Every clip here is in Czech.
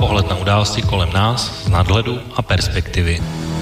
Pohled na události kolem nás z nadhledu a perspektivy.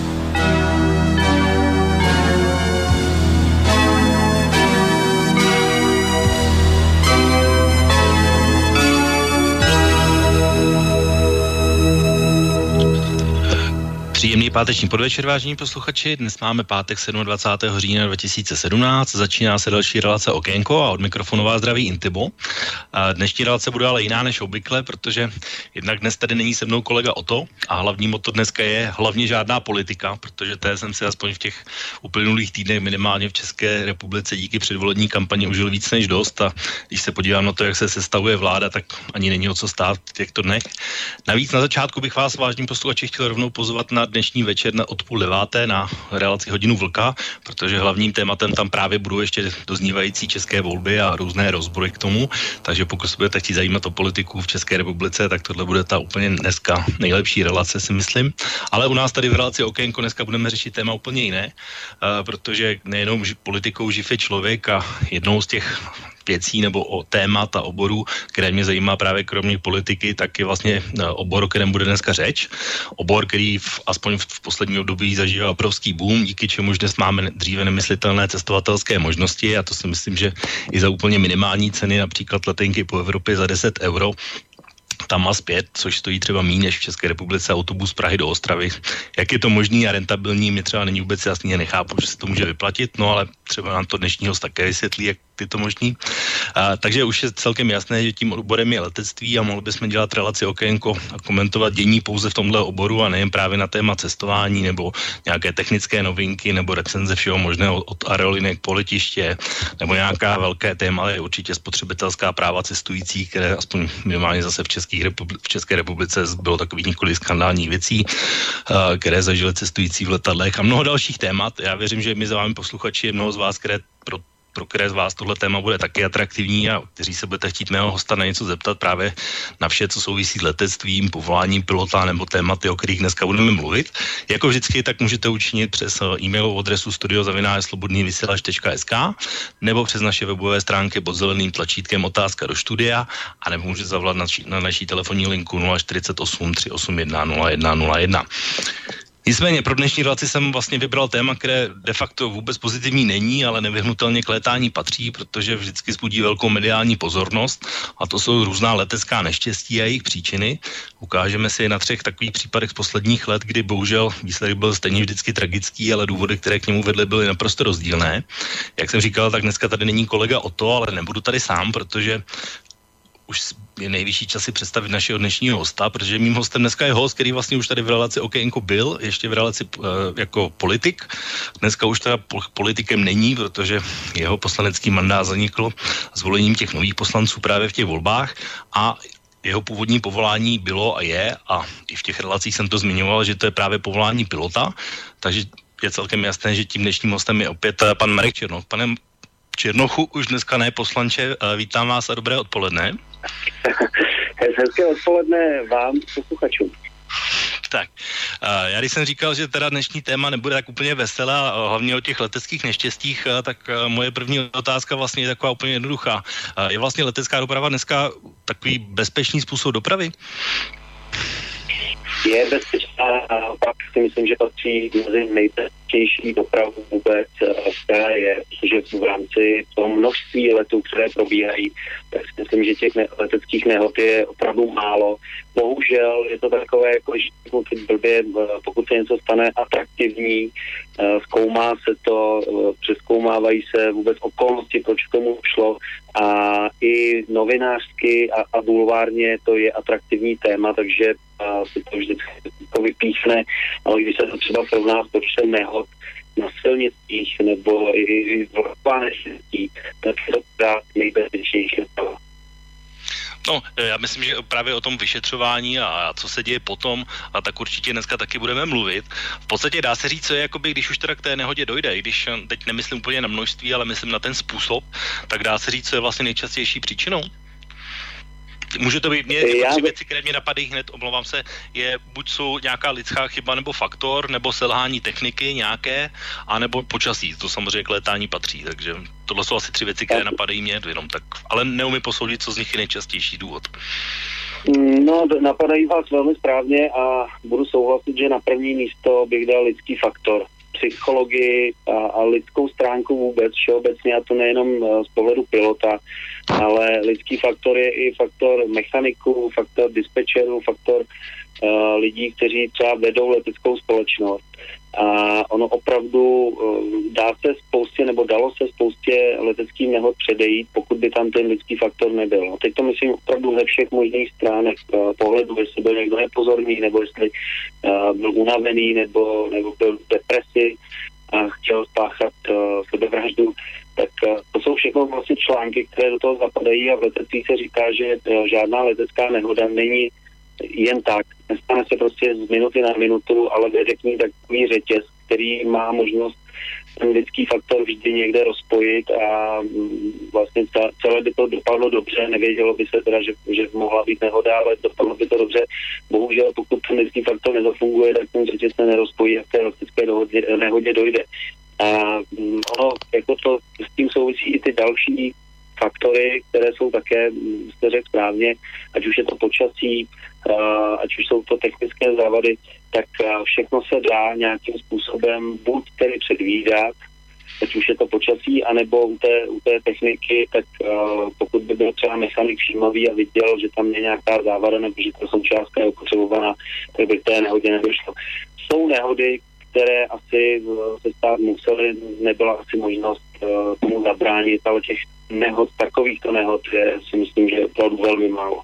Příjemný páteční podvečer, vážení posluchači. Dnes máme pátek 27. října 2017. Začíná se další relace Okénko a od mikrofonu vás zdraví Intibo. Dnešní relace bude ale jiná než obvykle, protože jednak dnes tady není se mnou kolega Oto a hlavní motto dneska je hlavně žádná politika, protože té jsem si aspoň v těch uplynulých týdnech minimálně v České republice díky předvolební kampani užil víc než dost a když se podívám na to, jak se sestavuje vláda, tak ani není o co stát v těchto dnech. Navíc na začátku bych vás, vážení posluchači, chtěl rovnou pozvat na dnešní večer od 8:30 na relaci Hodinu vlka, protože hlavním tématem tam právě budou ještě doznívající české volby a různé rozbory k tomu, takže pokud se budete chtít zajímat o politiku v České republice, tak tohle bude ta úplně dneska nejlepší relace, si myslím. Ale u nás tady v relaci Okénko dneska budeme řešit téma úplně jiné, protože nejenom politikou živ je člověk a jednou z těch věcí nebo o témat a oborů, které mě zajímá právě kromě politiky, tak je vlastně obor, o kterém bude dneska řeč. Obor, který aspoň v posledním období zažívá obrovský boom, díky čemuž dnes máme dříve nemyslitelné cestovatelské možnosti a to si myslím, že i za úplně minimální ceny, například letenky po Evropě za 10 euro, tam a zpět, což stojí třeba méně než v České republice autobus z Prahy do Ostravy. Jak je to možný a rentabilní, mi třeba není vůbec jasný a nechápu, že se to může vyplatit, no ale třeba nám to dnešní host také vysvětlí, jak je to možný. Takže už je celkem jasné, že tím oborem je letectví a mohli bychom dělat relaci Okénko a komentovat dění pouze v tomhle oboru a nejen právě na téma cestování nebo nějaké technické novinky nebo recenze všeho možného od aerolinek po letiště nebo nějaká velké téma je určitě spotřebitelská práva cestujících, které aspoň minimálně zase v České republice bylo takových několik skandálních věcí, které zažili cestující v letadlech a mnoho dalších témat. Já věřím, že my za vámi posluchači je mnoho z vás, pro které z vás tohle téma bude taky atraktivní a kteří se budete chtít mého hosta na něco zeptat právě na vše, co souvisí s letectvím, povoláním pilota nebo tématy, o kterých dneska budeme mluvit. Jako vždycky, tak můžete učinit přes e-mailovou adresu studio@slobodnyvysielac.sk nebo přes naše webové stránky pod zeleným tlačítkem otázka do studia a nebo můžete zavolat na naší telefonní linku 048 381 0101. Nicméně pro dnešní relaci jsem vlastně vybral téma, které de facto vůbec pozitivní není, ale nevyhnutelně k létání patří, protože vždycky vzbudí velkou mediální pozornost a to jsou různá letecká neštěstí a jejich příčiny. Ukážeme si je na 3 takových případech z posledních let, kdy bohužel výsledek byl stejně vždycky tragický, ale důvody, které k němu vedly, byly naprosto rozdílné. Jak jsem říkal, tak dneska tady není kolega Oto, ale nebudu tady sám, protože už je nejvyšší čas si představit našeho dnešního hosta, protože mým hostem dneska je host, který vlastně už tady v relaci Okénko byl, ještě v relaci jako politik. Dneska už teda politikem není, protože jeho poslanecký mandát zanikl zvolením těch nových poslanců právě v těch volbách a jeho původní povolání bylo a je, a i v těch relacích jsem to zmiňoval, že to je právě povolání pilota, takže je celkem jasné, že tím dnešním hostem je opět pan Marek Černoch. Pane Černochu, už dneska ne poslanče, vítám vás a dobré odpoledne. Hezké odpoledne vám, posluchačům. Tak, já když jsem říkal, že teda dnešní téma nebude tak úplně veselé a hlavně o těch leteckých neštěstích, tak moje první otázka vlastně je taková úplně jednoduchá. Je vlastně letecká doprava dneska takový bezpečný způsob dopravy? Je bezpečná a pak si myslím, že patří mezi nejbezpečnější dopravu vůbec, která je, protože v rámci toho množství letů, které probíhají, tak si myslím, že těch leteckých nehod je opravdu málo. Bohužel je to takové, jako že blbě, pokud se něco stane atraktivní, zkoumá se to, přezkoumávají se vůbec okolnosti, proč k tomu šlo a i novinářsky a bulvárně to je atraktivní téma, takže si to vždycky vypíchne, ale když se to třeba srovná s počtem nehod na silnicích nebo i vlaková neštěstí, tak je to právě nejbezpečnější. No, já myslím, že právě o tom vyšetřování a co se děje potom, a tak určitě dneska taky budeme mluvit. V podstatě dá se říct, co je, jakoby, když už teda k té nehodě dojde, i když teď nemyslím úplně na množství, ale myslím na ten způsob, tak dá se říct, co je vlastně nejčastější příčinou. Může to být, tři věci, které mě napadají hned, omlouvám se, je buď jsou nějaká lidská chyba nebo faktor, nebo selhání techniky nějaké, anebo počasí, to samozřejmě k létání patří, takže tohle jsou asi 3 věci, které napadají mě jenom tak, ale neumím posoudit, co z nich je nejčastější důvod. No, napadají vás velmi správně a budu souhlasit, že na první místo bych dal lidský faktor. Psychologii a lidskou stránku vůbec, všeobecně, a to nejenom z pohledu pilota, ale lidský faktor je i faktor mechaniků, faktor dispečerů, faktor lidí, kteří třeba vedou leteckou společnost. A ono opravdu dalo se spoustě leteckých nehod předejít, pokud by tam ten lidský faktor nebyl. No, teď to myslím opravdu ze všech možných stránek pohledu, jestli byl někdo nepozorný, nebo jestli byl unavený, nebo byl v depresi a chtěl spáchat sebevraždu. Tak to jsou všechno vlastně články, které do toho zapadají a v letectví se říká, že žádná letecká nehoda není jen tak. Nestane se prostě z minuty na minutu, ale vede k ní takový řetěz, který má možnost ten lidský faktor vždy někde rozpojit a vlastně celé by to dopadlo dobře. Nevědělo by se teda, že mohla být nehoda, ale dopadlo by to dobře. Bohužel, pokud ten lidský faktor nezafunguje, tak ten řetěz se nerozpojí a k té letecké nehodě dojde. A ono, jako to s tím souvisí i ty další faktory, které jsou také, jste řekl správně, ať už je to počasí, ať už jsou to technické závady, tak všechno se dá nějakým způsobem buď tedy předvídat, ať už je to počasí, anebo u té techniky, tak pokud by byl třeba mechanik všímavý a viděl, že tam je nějaká závada nebo že ta součástka je opotřebovaná, tak by k té nehodě nedošlo. Jsou nehody, které asi se stát musely, nebyla asi možnost tomu zabránit, ale těch nehod, takovýchto nehod je, si myslím, že je opravdu velmi málo.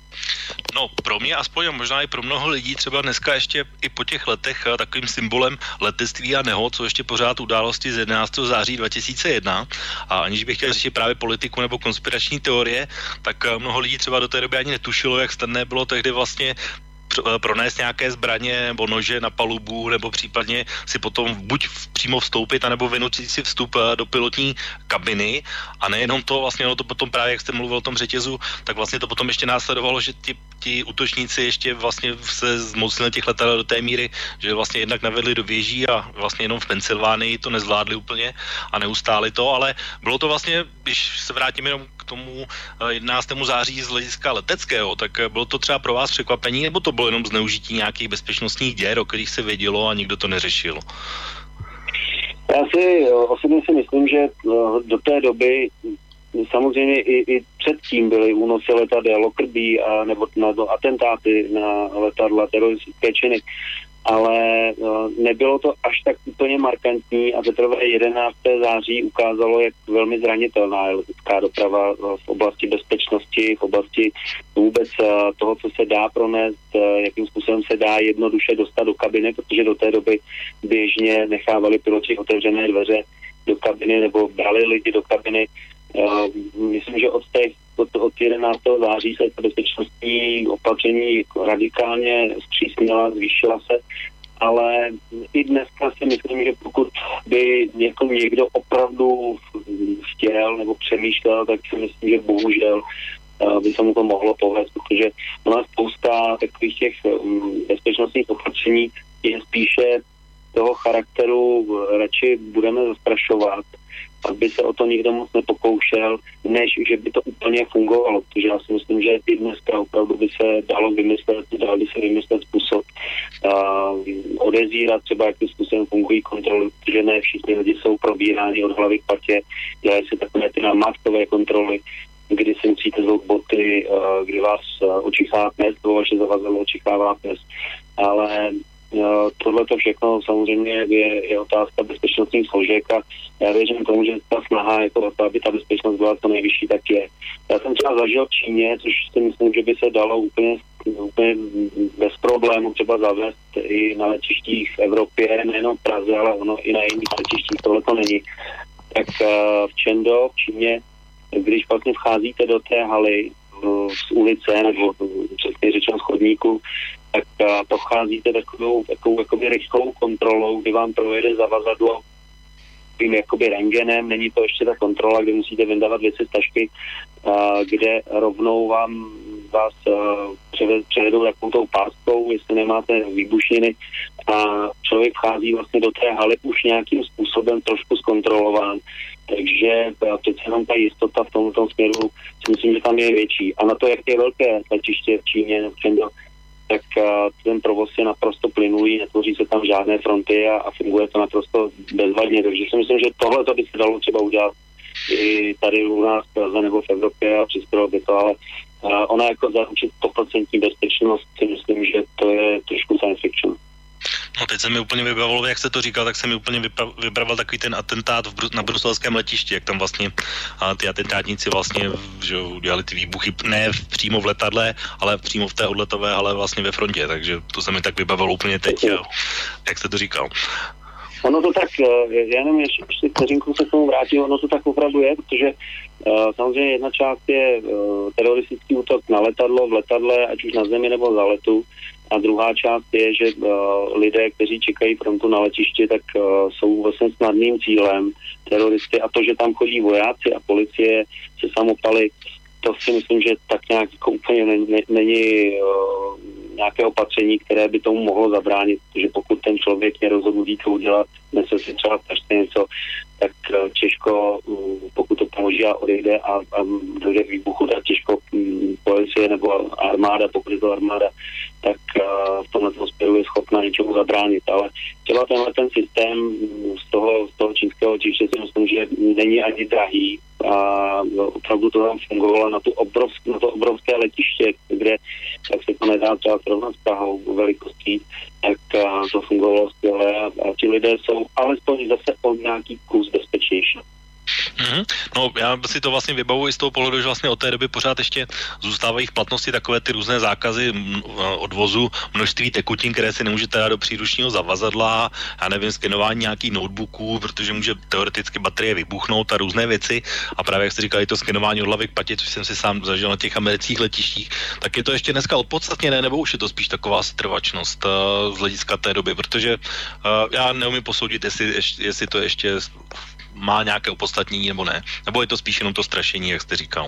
No, pro mě aspoň a možná i pro mnoho lidí třeba dneska ještě i po těch letech takovým symbolem letectví a nehod, co ještě pořád události z 11. září 2001 a aniž bych chtěl řešit právě politiku nebo konspirační teorie, tak mnoho lidí třeba do té doby ani netušilo, jak snadné bylo tehdy vlastně pronést nějaké zbraně nebo nože na palubu, nebo případně si potom buď přímo vstoupit, anebo vynutit si vstup do pilotní kabiny. A nejenom to, vlastně ono to potom právě, jak jste mluvil o tom řetězu, tak vlastně to potom ještě následovalo, že ti útočníci ještě vlastně se zmocnili těch letadel do té míry, že vlastně jednak navedli do věží a vlastně jenom v Pensylvánii to nezvládli úplně a neustáli to, ale bylo to vlastně, když se vrátím jenom k tomu 11. září z hlediska leteckého, tak bylo to třeba pro vás překvapení, nebo to bylo jenom zneužití nějakých bezpečnostních děr, o kterých se vědělo a nikdo to neřešil? Já osobně si myslím, že do té doby samozřejmě i předtím byly únosy letadel, Lockerbie nebo atentáty na letadla, teroristické činy, ale nebylo to až tak úplně markantní a teprve 11. září ukázalo, jak velmi zranitelná je letecká doprava v oblasti bezpečnosti, v oblasti vůbec toho, co se dá pronést, jakým způsobem se dá jednoduše dostat do kabiny, protože do té doby běžně nechávali piloti otevřené dveře do kabiny nebo brali lidi do kabiny. Myslím, že od 11. září se ta bezpečnostní opatření radikálně zpřísnila, zvýšila se, ale i dneska si myslím, že pokud by někdo opravdu chtěl nebo přemýšlel, tak si myslím, že bohužel by se mu to mohlo povést, protože ona spousta takových těch bezpečnostních opatření je spíše toho charakteru, radši budeme zastrašovat, aby se o to nikdo moc nepokoušel, než že by to úplně fungovalo, protože já si myslím, že i dneska opravdu by se dal by se vymyslet způsob odezírat třeba, jakým způsobem fungují kontroly, protože ne všichni lidi jsou probíráni od hlavy k patě, dělají se takové ty namátkové kontroly, kdy si musíte zvout boty, kdy vás očichává pes, nebo vaše zavazadlo očichává pes, ale tohle to všechno samozřejmě je otázka bezpečnostních složek a já věřím tomu, že ta snaha jako to, aby ta bezpečnost byla to nejvyšší, tak je. Já jsem třeba zažil v Číně, což si myslím, že by se dalo úplně bez problému třeba zavést i na letištích v Evropě, nejenom v Praze, ale ono i na jiných letištích, tohle to není. Tak v Čendo, v Číně, když vlastně vcházíte do té haly z ulice nebo přesně řečeno z chodníku, tak procházíte takovou jakoby rychlou kontrolou, kdy vám projede zavazadlo tím jakoby rentgenem, není to ještě ta kontrola, kdy musíte vyndávat věci z tašky, kde rovnou vás převedou takovou tou páskou, jestli nemáte výbušniny a člověk vchází vlastně do té haly už nějakým způsobem trošku zkontrolován. Takže přece jenom ta jistota v tomto směru si myslím, že tam je větší. A na to, jak je velké letiště v Číně, tak ten provoz je naprosto plynulý, netvoří se tam žádné fronty a funguje to naprosto bezvadně. Takže si myslím, že tohle to by se dalo třeba udělat i tady u nás v Praze nebo v Evropě a přispělo by to, ale ona jako zaručit 100% bezpečnost si myslím, že to je trošku science fiction. No teď se mi úplně vybavilo, jak se to říkal, tak se mi úplně vybavil takový ten atentát na bruselském letišti, jak tam vlastně ty atentátníci vlastně že udělali ty výbuchy ne přímo v letadle, ale přímo v té odletové, ale vlastně ve frontě, takže to se mi tak vybavilo úplně teď, jak jste to říkal. Ono to tak, já nevím, ještě vteřinku se k tomu vrátím, ono to tak opravdu je, protože samozřejmě jedna část je teroristický útok na letadlo, v letadle, ať už na zemi nebo za letu, a druhá část je, že lidé, kteří čekají frontu na letišti, tak jsou vlastně snadným cílem teroristy a to, že tam chodí vojáci a policie se samopaly, to si myslím, že tak nějak jako úplně není nějaké opatření, které by tomu mohlo zabránit, protože pokud ten člověk je rozhodnutý to udělat, nese si třeba strašně něco, tak těžko, pokud to položí a odejde a dojde k výbuchu, tak těžko policie nebo armáda, pokud je to armáda, tak v tomhle směru je schopna něčemu zabránit. Ale třeba ten systém z toho čínského letiště si myslím, že není ani drahý a opravdu to tam fungovalo na to obrovské letiště, kde, tak se to nedá třeba srovnat s Prahou velikostí, tak to fungovalo skvěle a ti lidé jsou alespoň zase o nějaký kus bezpečnější. No, já si to vlastně vybavuji z toho pohledu, že vlastně od té doby pořád ještě zůstávají v platnosti takové ty různé zákazy odvozu množství tekutin, které si nemůžete dát do příručního zavazadla, já nevím, skenování nějakých notebooků, protože může teoreticky baterie vybuchnout a různé věci. A právě jak jste říkali, to skenování od hlavy k patě, což jsem si sám zažil na těch amerických letištích, tak je to ještě dneska opodstatněné, nebo už je to spíš taková setrvačnost z hlediska té doby, protože já neumím posoudit, jestli to ještě má nějaké opodstatnění nebo ne. Nebo je to spíš jenom to strašení, jak jste říkal?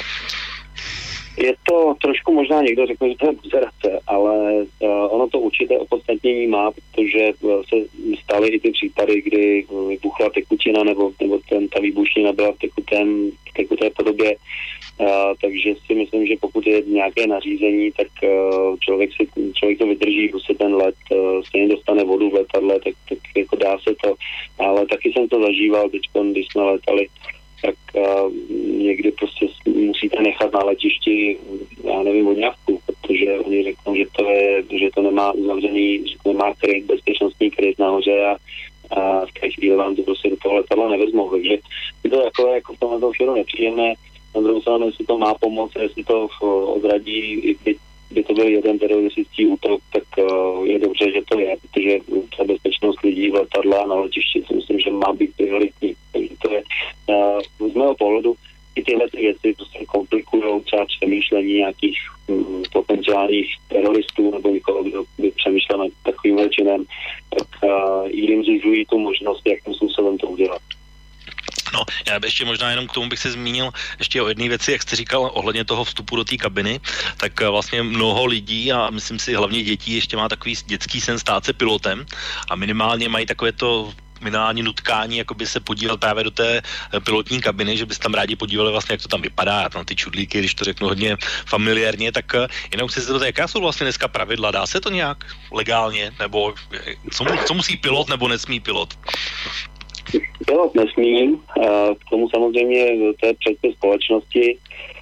Je to trošku možná někdo řekne, že to je buzerace, ale ono to určité opodstatnění má, protože se staly i ty případy, kdy vybuchla tekutina nebo ta výbušnina byla v tekuté podobě. Takže si myslím, že pokud je nějaké nařízení, tak člověk to vydrží, prostě ten let stejně dostane vodu v letadle, tak jako dá se to. Ale taky jsem to zažíval teď, když jsme letali, tak někdy prostě musíte nechat na letišti, já nevím, vodňavku, protože oni řeknou, že to nemá uzavřený, že to nemá kryt, bezpečnostní kryt nahoře a v té chvíli vám to prostě do toho letadla nevezmou. Takže je to takové jako v tomhle všeho nepříjemné. Na druhou stranu, jestli to má pomoct, jestli to odradí, by to byl jeden teroristický útok, tak je dobře, že to je, protože ta bezpečnost lidí v letadle a na letišti si myslím, že má být prioritní. Takže to je z mého pohledu i tyhle věci prostě komplikují třeba přemýšlení nějakých potenciálních teroristů nebo někoho, kdo by přemýšlel nad takovým činem, tak jim zužují tu možnost, jakým způsobem to udělat. No, já ještě možná jenom k tomu bych se zmínil ještě o jedné věci, jak jste říkal ohledně toho vstupu do té kabiny, tak vlastně mnoho lidí a myslím si hlavně dětí ještě má takový dětský sen stát se pilotem a minimálně mají takové to minimální nutkání, jako by se podívat právě do té pilotní kabiny, že by se tam rádi podívali vlastně, jak to tam vypadá, na ty čudlíky, když to řeknu hodně familiárně, tak jenom chci se zeptat, jaká jsou vlastně dneska pravidla, dá se to nějak legálně, nebo co musí pilot nebo nesmí pilot? Pilot nesmí, k tomu samozřejmě to je předpis společnosti,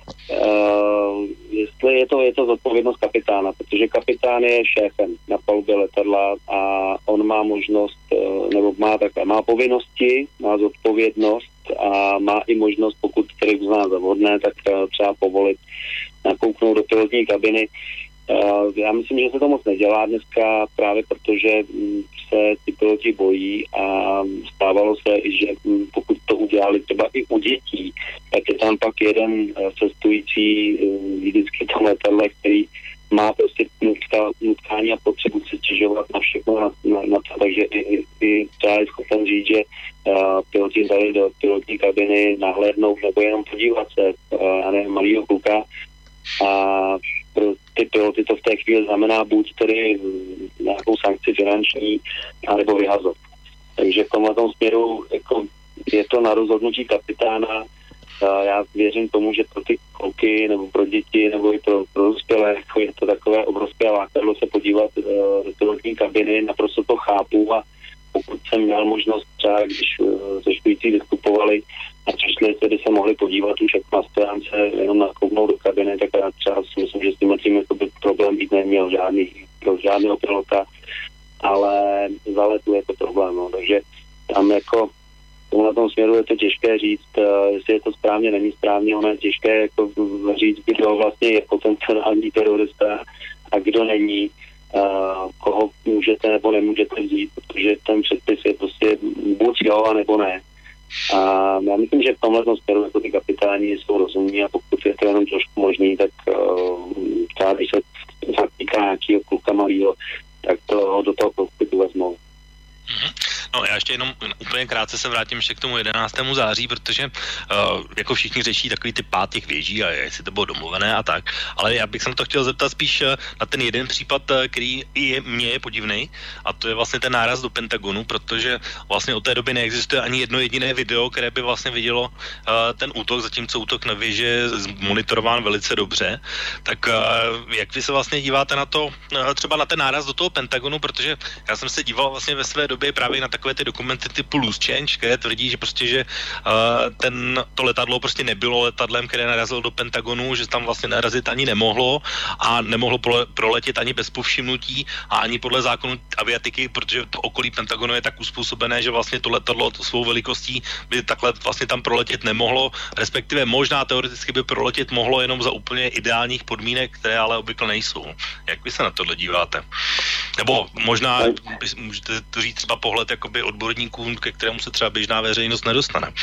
jestli je to zodpovědnost kapitána, protože kapitán je šéfem na palubě letadla a on má možnost, nebo má povinnosti, má zodpovědnost a má i možnost, pokud který uzná za vhodné, tak třeba povolit nakouknout do pilotní kabiny. Já myslím, že se to moc nedělá dneska právě protože se ty piloti bojí a stávalo se, že pokud to udělali třeba i u dětí, tak je tam pak jeden cestující vždycky v tom letadle, který má prostě nutkání a potřebu se stěžovat na všechno na to, takže i třeba je schopen říct, že piloti dali do pilotní kabiny nahlédnout nebo jenom podívat se, já nevím, malýho kluka a pro ty piloty to v té chvíli znamená buď tedy nějakou sankci finanční, anebo vyhazov. Takže v tomhle směru jako je to na rozhodnutí kapitána. Já věřím tomu, že pro ty kluky nebo pro děti nebo i pro dospělé jako je to takové obrovské lákadlo se podívat do pilotní kabiny, naprosto to chápu a pokud jsem měl možnost třeba, když cestující vystupovali a přišli, tedy se mohli podívat už jako na stojánce, jenom nakouknout do kabiny, tak já třeba si myslím, že s tím problém být neměl pro žádného pilota, ale za letu je to problém, no. Takže tam jako na tom směru je to těžké říct, jestli je to správně, není správně, ono je těžké jako říct, kdo vlastně je potenciální terorista a kdo není, koho můžete nebo nemůžete vzít, protože ten předpis je prostě buď jo, a nebo ne. A já myslím, že v tomhle směru jako ty kapitáni jsou rozumní a pokud je to jenom trošku možný, tak třeba když se týká nějakého kluka malýho, tak to do toho kokpitu vezmou. No já ještě jenom úplně krátce se vrátím ještě k tomu 11. září, protože jako všichni řeší takový ty pád těch věží a jestli to bylo domluvené a tak, ale já bych se na to chtěl zeptat spíš na ten jeden případ, který mně je podivný, a to je vlastně ten náraz do Pentagonu, protože vlastně od té doby neexistuje ani jedno jediné video, které by vlastně vidělo ten útok, zatímco útok na věži je monitorován velice dobře. Tak jak vy se vlastně díváte na to, třeba na ten náraz do toho Pentagonu, protože já jsem se díval vlastně ve své době právě na takové ty dokumenty typu Loose Change, které tvrdí, že prostě, že to letadlo prostě nebylo letadlem, které narazilo do Pentagonu, že tam vlastně narazit ani nemohlo a nemohlo proletět ani bez povšimnutí a ani podle zákonu aviatiky, protože to okolí Pentagonu je tak uspůsobené, že vlastně to letadlo svou velikostí by takhle vlastně tam proletět nemohlo, respektive možná teoreticky by proletět mohlo jenom za úplně ideálních podmínek, které ale obvykle nejsou. Jak vy se na tohle díváte? Nebo možná můžete to říct třeba pohled jakoby odborníkům, ke kterému se třeba běžná veřejnost nedostane.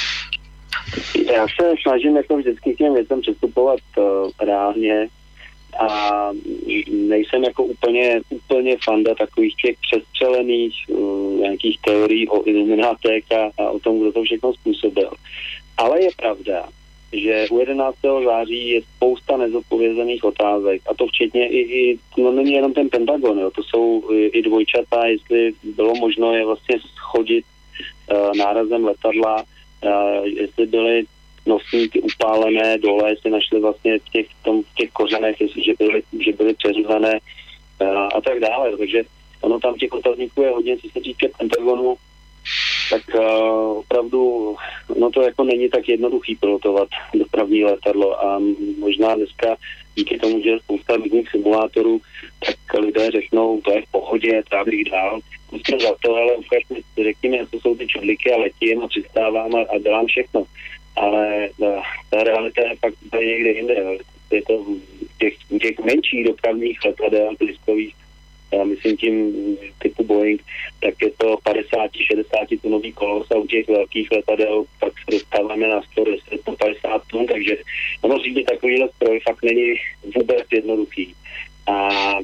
Já se snažím jako vždycky k těm věcem přistupovat reálně a nejsem jako úplně fanda takových těch přestřelených nějakých teorií o iluminátech a o tom, kdo to všechno způsobil. Ale je pravda, že u 11. září je spousta nezodpovězených otázek a to včetně no není jenom ten Pentagon, jo, to jsou i dvojčata, jestli bylo možno je vlastně schodit nárazem letadla, jestli byly nosníky upálené dole, jestli našli vlastně v těch kořenech, jestli že byly přeřízené a tak dále, takže ono tam těch otazníků je hodně, co se týče Pentagonu, tak opravdu no to jako není tak jednoduchý pilotovat dopravní letadlo a možná dneska díky tomu, že je spousta různých simulátorů, tak lidé řeknou, to je v pohodě, trávím dál, musím za to, ale ukážme, řekněme, co jsou ty čudliky a letím a přistávám a dělám všechno. Ale ta realita je fakt tady někde jinde. Je to těch menších dopravních letadel, blízkových, myslím tím typu Boeing, tak je to 50-60 tunový kolos a u těch velkých letadel pak se dostáváme na 150 tun, takže ono řídit takovýhle stroj fakt není vůbec jednoduchý. A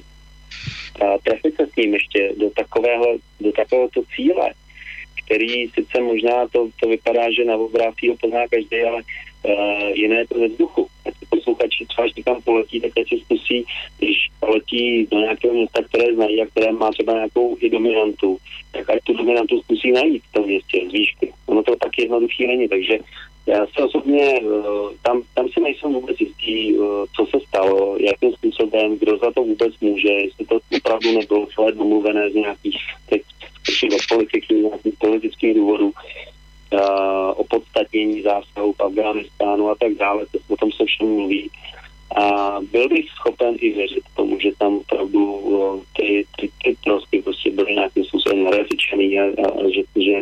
trefit se s ním ještě do takovéhoto cíle, který sice možná to vypadá, že na obrázky ho pozná každý, ale jiné je to ve vzduchu. Ať posluchači třeba, když někam poletí, tak si zkusí, když letí do nějakého města, které znají a které má třeba nějakou i dominantu, tak ať tu dominantu zkusí najít v tom městě z výšky. Ono to tak jednoduchý není, takže já se osobně, tam si nejsem vůbec jistý, co se stalo, jakým způsobem, kdo za to vůbec může, jestli to opravdu nebylo celé domluvené z nějakých politických důvodů, opodstatnění zásahu v Afghánistánu a tak dále, o tom se všem mluví. A byl bych schopen i věřit tomu, že tam opravdu ty trosky prostě byly nějakým způsobem narefičený a že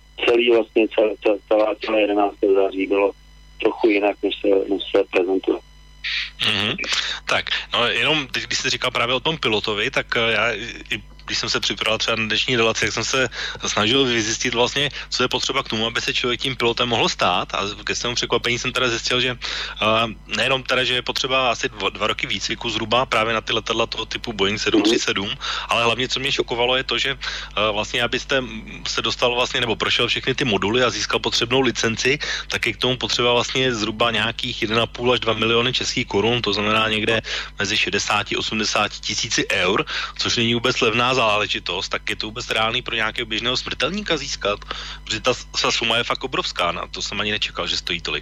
celé 11. září bylo trochu jinak, než se prezentuje. Mm-hmm. Tak, no jenom teď, když jsi říkal právě o tom pilotovi, tak já když jsem se připravil třeba na dnešní relaci, jak jsem se snažil vyzjistit vlastně, co je potřeba k tomu, aby se člověk tím pilotem mohl stát, a ke svému překvapení jsem teda zjistil, že nejenom teda, že je potřeba asi 2 roky výcviku zhruba právě na ty letadla toho typu Boeing 737, ale hlavně, co mě šokovalo, je to, že vlastně abyste se dostal vlastně nebo prošel všechny ty moduly a získal potřebnou licenci, tak je k tomu potřeba vlastně zhruba nějakých 1,5 až 2 miliony českých korun, to znamená někde mezi 60-80 tisíci eur, což není vůbec levná záležitost, tak je to vůbec reálný pro nějakého běžného smrtelníka získat, protože ta suma je fakt obrovská, na to jsem ani nečekal, že stojí tolik.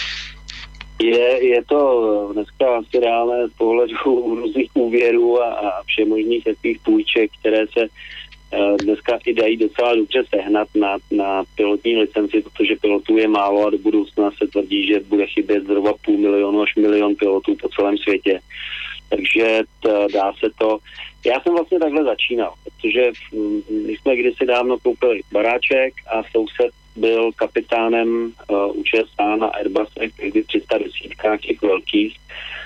Je to dneska asi reálné z pohledu různých úvěrů a všemožných takových půjček, které se dneska i dají docela dobře sehnat na pilotní licenci, protože pilotů je málo a do budoucna se tvrdí, že bude chybět zhruba 500 000 až 1 000 000 pilotů po celém světě. Takže dá se to. Já jsem vlastně takhle začínal, protože my jsme kdysi dávno koupili baráček a soused byl kapitánem u ČSA na Airbusech, někdy 310 těch velkých,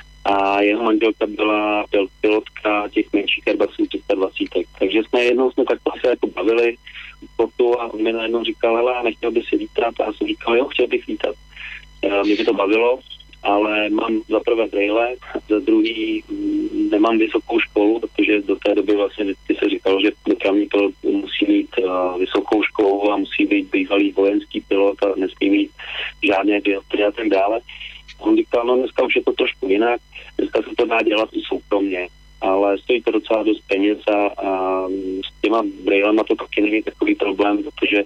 a jeho manželka byla pilotka těch menších Airbusů 320. Takže jednou jsme takhle se jako bavili sportu a on mi najednou říkal, hele, nechtěl by si lítat, a já jsem říkal, jo, chtěl bych lítat. Mě by to bavilo, ale mám za prvé brejle, za druhý nemám vysokou školu, protože do té doby vlastně vždycky se říkalo, že dopravní pilot musí mít vysokou školu a musí být bývalý vojenský pilot a nesmí mít žádné dioptrie a tak dále. On říkal, no dneska už je to trošku jinak, dneska se to dá dělat i soukromně, ale stojí to docela dost peněz a s těma brejlema to taky není takový problém, protože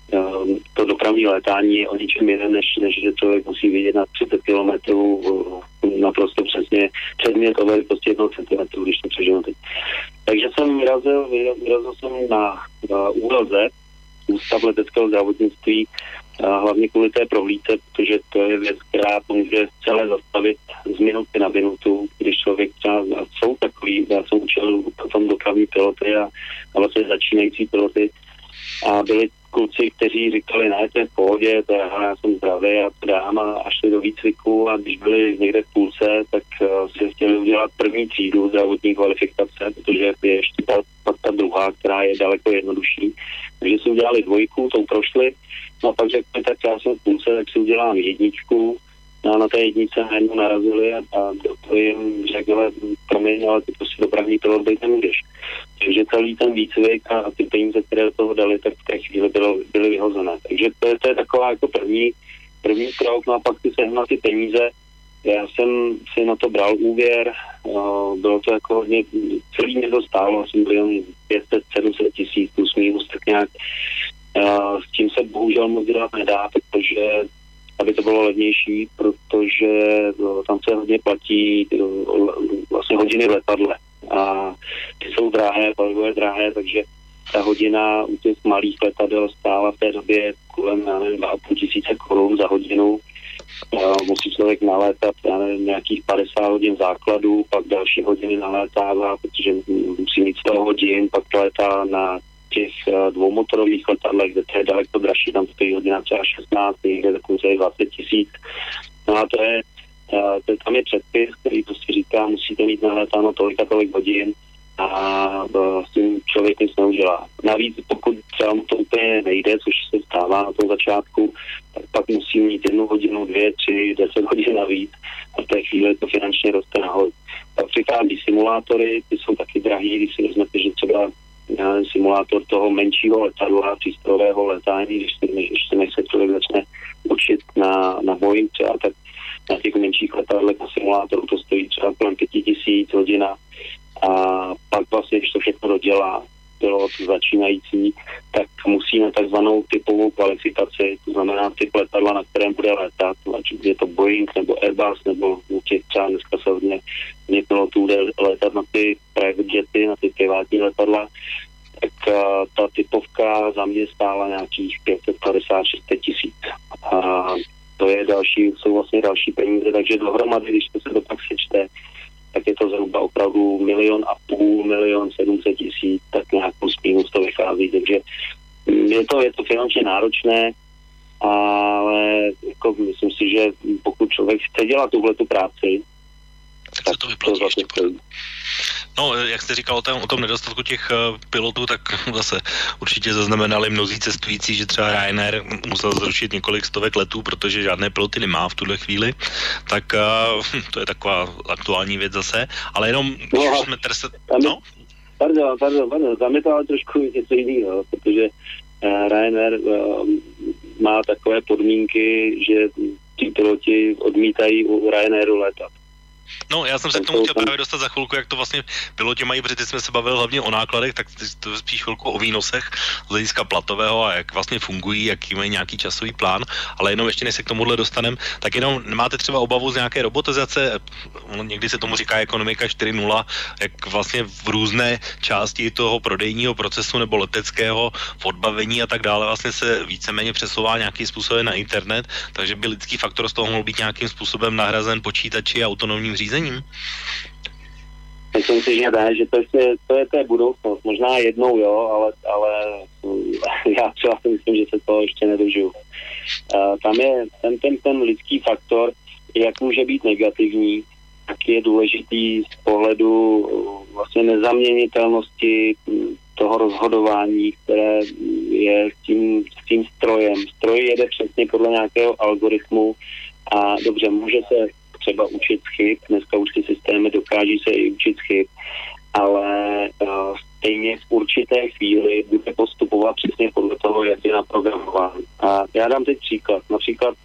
to dopravní létání je o ničem jiném, než že člověk musí vidět na 30 kilometrů naprosto přesně předmětové prostě 1 centimetru, když to přežiju teď. Takže jsem vyrazil jsem na ÚLZ, Ústav leteckého zdravotnictví, hlavně kvůli té prohlídce, protože to je věc, která může celé zastavit z minuty na minutu, když člověk třeba, jsou takový, já jsem učil potom dopravní piloty a vlastně začínající piloty a byli kluci, kteří říkali, ne, to je v pohodě, to já jsem zdravý a to dám, a šli do výcviku, a když byli někde v půlce, tak si chtěli udělat první třídu zdravotní kvalifikace, protože je ještě ta druhá, která je daleko jednodušší. Takže si udělali 2, tou prošli, no a pak řekli, tak já jsem v půlce, tak si udělám 1, no a na té 1 najednou narazili a doktor jim řekl, promiň, ale ty prostě dopravní pilot být nemůžeš. Takže celý ten výcvik a ty peníze, které do toho dali, tak v té chvíli byly vyhozené. Takže to je taková jako první krok, no a pak si sehnal ty peníze. Já jsem si na to bral úvěr, bylo to jako hodně, celý mě to stálo, asi 500-700 tisíc plus minus, tak nějak. S tím se bohužel moc dělat nedá, protože aby to bylo levnější, protože tam se hodně platí vlastně hodiny v letadle. A ty jsou drahé, palivové drahé, takže ta hodina u těch malých letadel stála v té době kolem 2,5 tisíce korun za hodinu. Musí člověk nalétat nějakých 50 hodin základů, pak další hodiny nalétává, protože musí mít 100 hodin, pak létá na těch dvoumotorových letadlech, kde to je daleko dražší, tam stojí hodina třeba 16, někde dokonce je 20 tisíc. No a tam je předpis, který prostě říká, musíte mít nalétáno tolik a tolik hodin a s tím člověk nic neudělá. Navíc pokud třeba mu to úplně nejde, což se stává na tom začátku, tak pak musí mít 1 hodinu, 2, 3, 10 hodin navíc a v té chvíli to finančně roste nahoru. Pak přichází simulátory, ty jsou taky drahý, když si vezmete, že třeba simulátor toho menšího letadla, přístrojového letání, když se člověk začne učit na Boeing třeba, tak na těch menších letadlech na simulátoru to stojí třeba kolem 5 000 hodina a pak vlastně, když to všechno dodělá pilot začínající, tak musí na takzvanou typovou kvalifikaci, to znamená typ letadla, na kterém bude létat, ať je to Boeing nebo Airbus, nebo těch třeba dneska se hodně pilotů jde létat na ty private jety, na ty privátní letadla, tak ta typovka za mě stála nějakých 556 tisíc. A to je jsou vlastně další peníze, takže dohromady, když to se to pak sečte, tak je to zhruba opravdu 1,5 700 000, tak nějak plus minus to vychází, takže je to finančně náročné, ale jako myslím si, že pokud člověk chce dělat tuhletu práci, jak se to vyplatí ještě pořád. No, jak jste říkal o tom nedostatku těch pilotů, tak zase určitě zaznamenali mnozí cestující, že třeba Ryanair musel zrušit několik stovek letů, protože žádné piloty nemá v tuhle chvíli, tak to je taková aktuální věc zase, ale jenom, když už jsme Pardon, tam je to ale trošku něco jiného, protože Ryanair má takové podmínky, že ti piloti odmítají u Ryanairu letat. No, já jsem se k tomu chtěl právě dostat za chvilku, jak to vlastně piloti mají, protože jsme se bavili hlavně o nákladech, tak to je spíš chvilku o výnosech z hlediska platového a jak vlastně fungují, jaký mají nějaký časový plán, ale jenom ještě než se k tomuhle dostanem, tak jenom máte třeba obavu z nějaké robotizace, někdy se tomu říká ekonomika 4.0, jak vlastně v různé části toho prodejního procesu nebo leteckého v odbavení a tak dále vlastně se víceméně přesouvá nějakým způsobem na internet, takže by lidský faktor z toho mohl být nějakým způsobem nahrazen počítači a autonomním řízením? Myslím si, že ne, že to je budoucnost. Možná jednou, jo, ale já třeba si myslím, že se toho ještě nedožiju. Tam je ten lidský faktor, jak může být negativní, tak je důležitý z pohledu vlastně nezaměnitelnosti toho rozhodování, které je s tím strojem. Stroj jede přesně podle nějakého algoritmu a dobře, může se třeba učit chyb, dneska už ty systémy dokáží se i učit chyb, ale stejně v určité chvíli bude postupovat přesně podle toho, jak je naprogramován. A já dám teď příklad. Například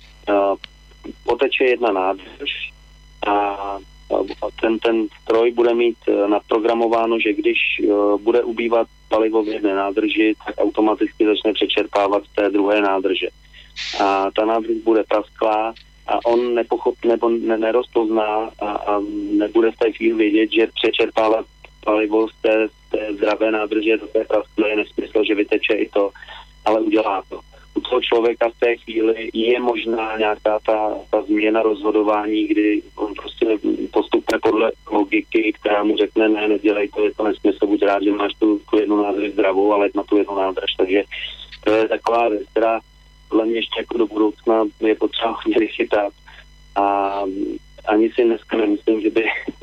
poteče jedna nádrž a ten stroj bude mít naprogramováno, že když bude ubývat palivo v jedné nádrži, tak automaticky začne přečerpávat z té druhé nádrže. A ta nádrž bude prasklá a on nerozpozná a nebude v té chvíli vědět, že přečerpávat palivo z té zdravé nádrže do té prasklé je nesmysl, že vyteče i to, ale udělá to. U toho člověka v té chvíli je možná nějaká ta změna rozhodování, kdy on prostě postupuje podle logiky, která mu řekne, ne, nedělej to, je to nesmysl, buď rád, že máš tu jednu nádrž zdravou, ale na tu jednu nádrž, takže to je taková věc, která podle mě ještě jako do budoucna je potřeba hodně vychytat a ani si dneska nemyslím, že by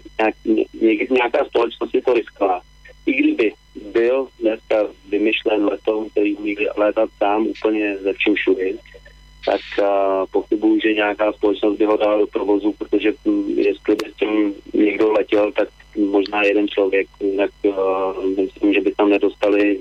nějaká společnost si to riskla. I kdyby byl dneska vymyšlen letoun, který umí létat sám úplně ze vším všudy, tak pochybuju, že nějaká společnost by ho dala do provozu, protože jestli by s tím někdo letěl, tak možná jeden člověk, jinak myslím, že by tam nedostali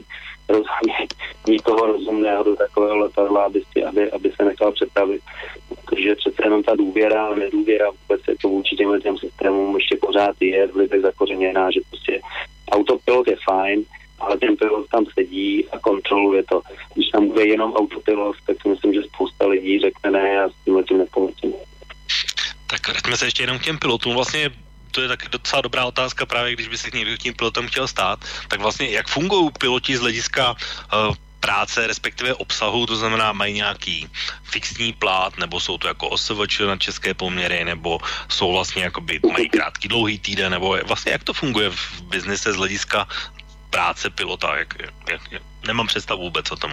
nikoho rozumného do takového letadla, aby se nechal přepravit. Protože přece jenom ta důvěra a nedůvěra vůbec jako vůči těm systémům ještě pořád je v lidech zakořeněná, že prostě autopilot je fajn, ale ten pilot tam sedí a kontroluje to. Když tam bude jenom autopilot, tak si myslím, že spousta lidí řekne ne, já s tím nepomůžu. Tak vraťme se ještě jenom k těm pilotům. Vlastně to je taky docela dobrá otázka, právě když by se někdo tím pilotem chtěl stát, tak vlastně jak fungují piloti z hlediska práce, respektive obsahu, to znamená, mají nějaký fixní plát, nebo jsou to jako OSVČ na české poměry, nebo jsou vlastně jakoby, mají krátký, dlouhý týden, nebo vlastně jak to funguje v biznise z hlediska práce pilota, nemám představu vůbec o tom.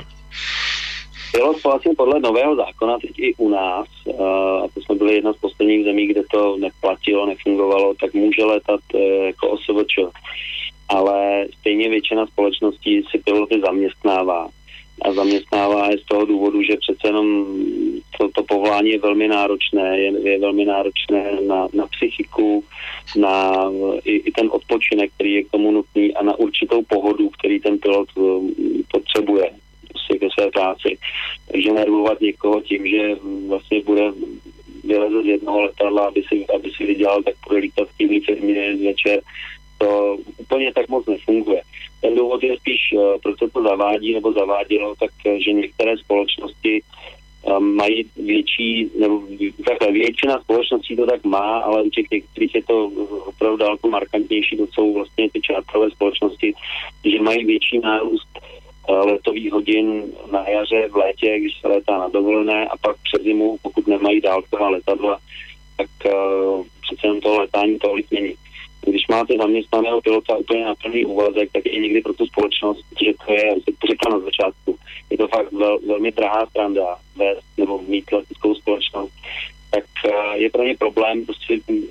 Pilot vlastně podle nového zákona, teď i u nás, a to jsme byli jedna z posledních zemí, kde to neplatilo, nefungovalo, tak může letat jako OSVČ. Ale stejně většina společností si piloty zaměstnává. A zaměstnává je z toho důvodu, že přece jenom to povolání je velmi náročné, je velmi náročné na psychiku, na i ten odpočinek, který je k tomu nutný a na určitou pohodu, který ten pilot potřebuje ke své práci. Takže nervovat někoho tím, že vlastně bude vylezet z jednoho letadla, aby si vydělal, tak bude lítat v týdní firmě večer, to úplně tak moc nefunguje. Ten důvod je spíš, proč se to zavádí nebo zavádělo, tak že některé společnosti mají větší, nebo takhle většina společností to tak má, ale u těch některých je to opravdu daleko markantnější, to jsou vlastně ty čártrové společnosti, že mají větší nárůst letových hodin na jaře, v létě, když se létá na dovolené a pak před zimu, pokud nemají dálková letadla, tak přece jen to letání tolik není. Když máte zaměstnaného pilota úplně na plný úvazek, tak je někdy pro tu společnost, že to je, jak to říkám na začátku, je to fakt velmi drahá stranda nebo mít leteckou společnost, tak je pro ně problém prostě v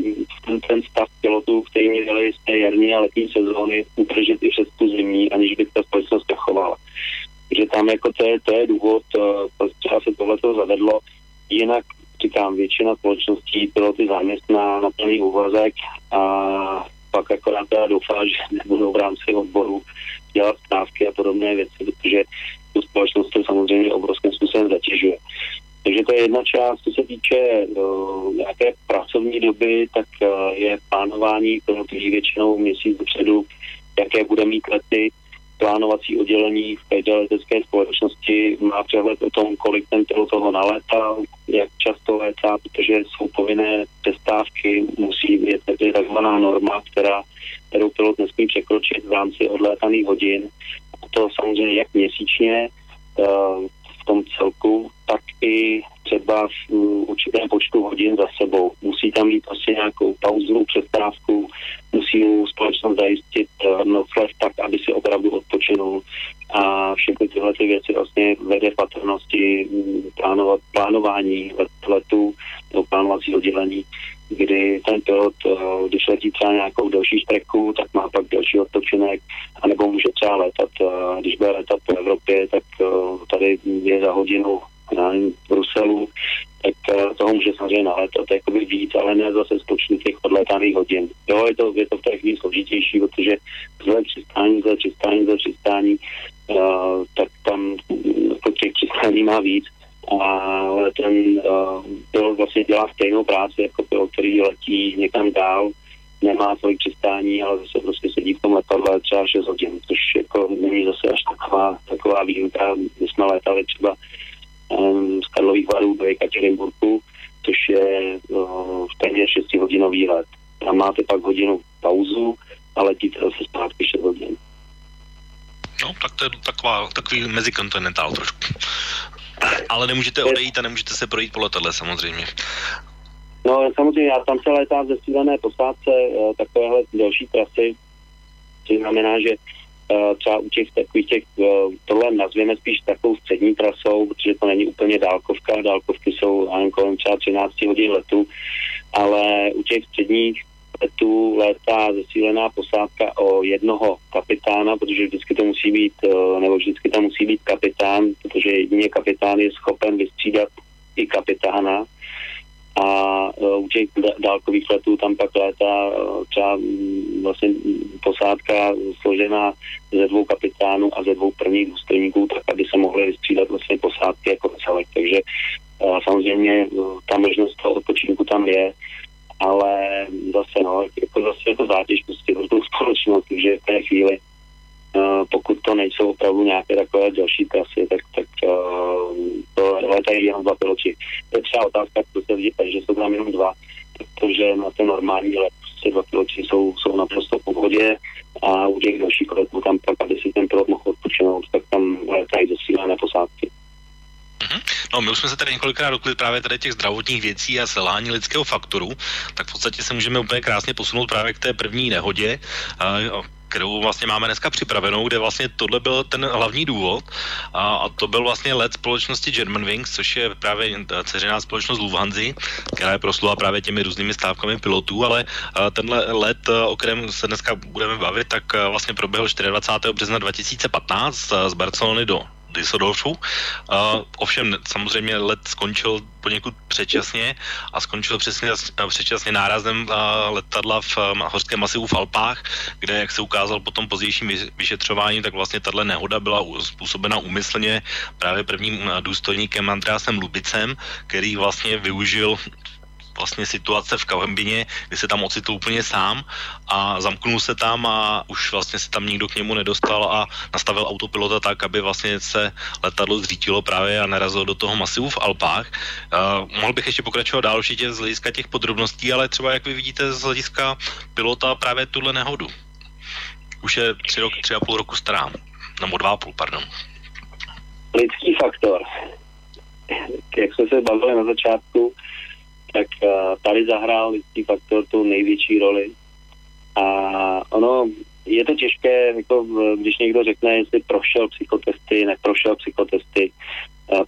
ten stav pilotů, který měli z té jarní a letní sezóny, udržet i přes tu zimní, aniž by ta společnost zachovala. Takže tam jako to je důvod, proč se tohleto zavedlo. Jinak, říkám, většina společností piloty zaměstná na plný úvazek a pak akorát doufá, že nebudou v rámci odboru dělat stávky a podobné věci, protože tu společnost to samozřejmě obrovským způsobem zatěžuje. Takže to je jedna část, co se týče nějaké pracovní doby, tak je plánování pilotů většinou měsíc dopředu, jaké bude mít lety. Plánovací oddělení v každé letecké společnosti má přehled o tom, kolik ten pilot toho nalétal, jak často létá, protože jsou povinné přestávky, musí být takzvaná norma, kterou pilot nesmí překročit v rámci odlétaných hodin. A to samozřejmě jak měsíčně v tom celku, tak i třeba v určitém počtu hodin za sebou. Musí tam být prostě nějakou pauzu, přestávku, musí mu společnost zajistit noclev tak, aby si opravdu odpočinul. A všechny tyhle ty věci vlastně vede v patrnosti plánování letu nebo plánovací oddělení, kdy ten pilot, když letí třeba nějakou delší streku, tak má pak delší odpočinek, anebo může třeba letat, když bude letat po Evropě, tak tady je za hodinu v Bruselu, tak toho může samozřejmě nalétat jakoby víc, ale ne zase z počtu těch odlétaných hodin. Jo, je to v té chvíli složitější, protože zle přistání, tak tam těch přistání má víc, ale ten pilot vlastně dělá stejnou práci jako pilot, který letí někam dál, nemá tolik přistání, ale zase prostě sedí v tom letadle třeba 6 hodin, což jako není zase až taková výjimka. My jsme létali třeba z Karlových Varů do Jekatěrinburgu, což je téměř 6hodinový let. Tam máte pak hodinu pauzu a letíte zase zpátky 6 hodin. No, tak to je takový mezikontinentál trošku. Ale nemůžete odejít a nemůžete se projít po letadle samozřejmě. No samozřejmě, já tam se létá ze střídané posádce takovéhle další trasy, což znamená, že třeba u těch takových tohle nazvěme spíš takovou střední trasou, protože to není úplně dálkovka, dálkovky jsou kolem třeba 13 hodin letu, ale u těch středních letů létá zesílená posádka o jednoho kapitána, protože vždycky to musí být, nebo vždycky tam musí být kapitán, protože jedině kapitán je schopen vystřídat i kapitána. A u těch dálkových letů tam pak létá třeba vlastně posádka složená ze 2 kapitánů a ze 2 prvních důstojníků, tak aby se mohly vystřídat vlastně posádky jako celek. Takže samozřejmě ta možnost toho odpočinku tam je, ale zase jako zátěž prostě pro tu společnost, takže v té chvíli, pokud to nejsou opravdu nějaké takové další trasy, tak to létají jenom 2 piloti. To je třeba otázka, co se vidí, že jsou tam jenom 2, protože na ten normální let prostě 2 piloti jsou naprosto v pohodě a u těch dalších letů tam pak, aby si ten pilot mohl odpočinout, tak tam létají zesílené posádky. No, my už jsme se tady několikrát dotkli právě tady těch zdravotních věcí a selhání lidského faktoru, tak v podstatě se můžeme úplně krásně posunout právě k té první nehodě, kterou vlastně máme dneska připravenou, kde vlastně tohle byl ten hlavní důvod a to byl vlastně let společnosti Germanwings, což je právě dceřiná společnost Lufthansa, která je proslula právě těmi různými stávkami pilotů, ale tenhle let, o kterém se dneska budeme bavit, tak vlastně proběhl 24. března 2015 z Barcelony do Düsseldorfu. Ovšem samozřejmě let skončil poněkud předčasně a skončil předčasně nárazem letadla v horském masivu v Alpách, kde, jak se ukázalo po tom pozdějším vyšetřování, tak vlastně tato nehoda byla způsobena úmyslně právě prvním důstojníkem Andreasem Lubicem, který vlastně využil vlastně situace v kabině, kdy se tam ocitl úplně sám a zamknul se tam a už vlastně se tam nikdo k němu nedostal a nastavil autopilota tak, aby vlastně se letadlo zřítilo právě a narazilo do toho masivu v Alpách. Mohl bych ještě pokračovat dál určitě z hlediska těch podrobností, ale třeba jak vy vidíte z hlediska pilota právě tuhle nehodu. Už je 3,5 roku stará. Nebo 2,5, pardon. Lidský faktor. Jak jsme se bavili na začátku, tak tady zahrál lidský faktor tu největší roli. A ono, je to těžké, jako když někdo řekne, jestli prošel psychotesty, neprošel psychotesty.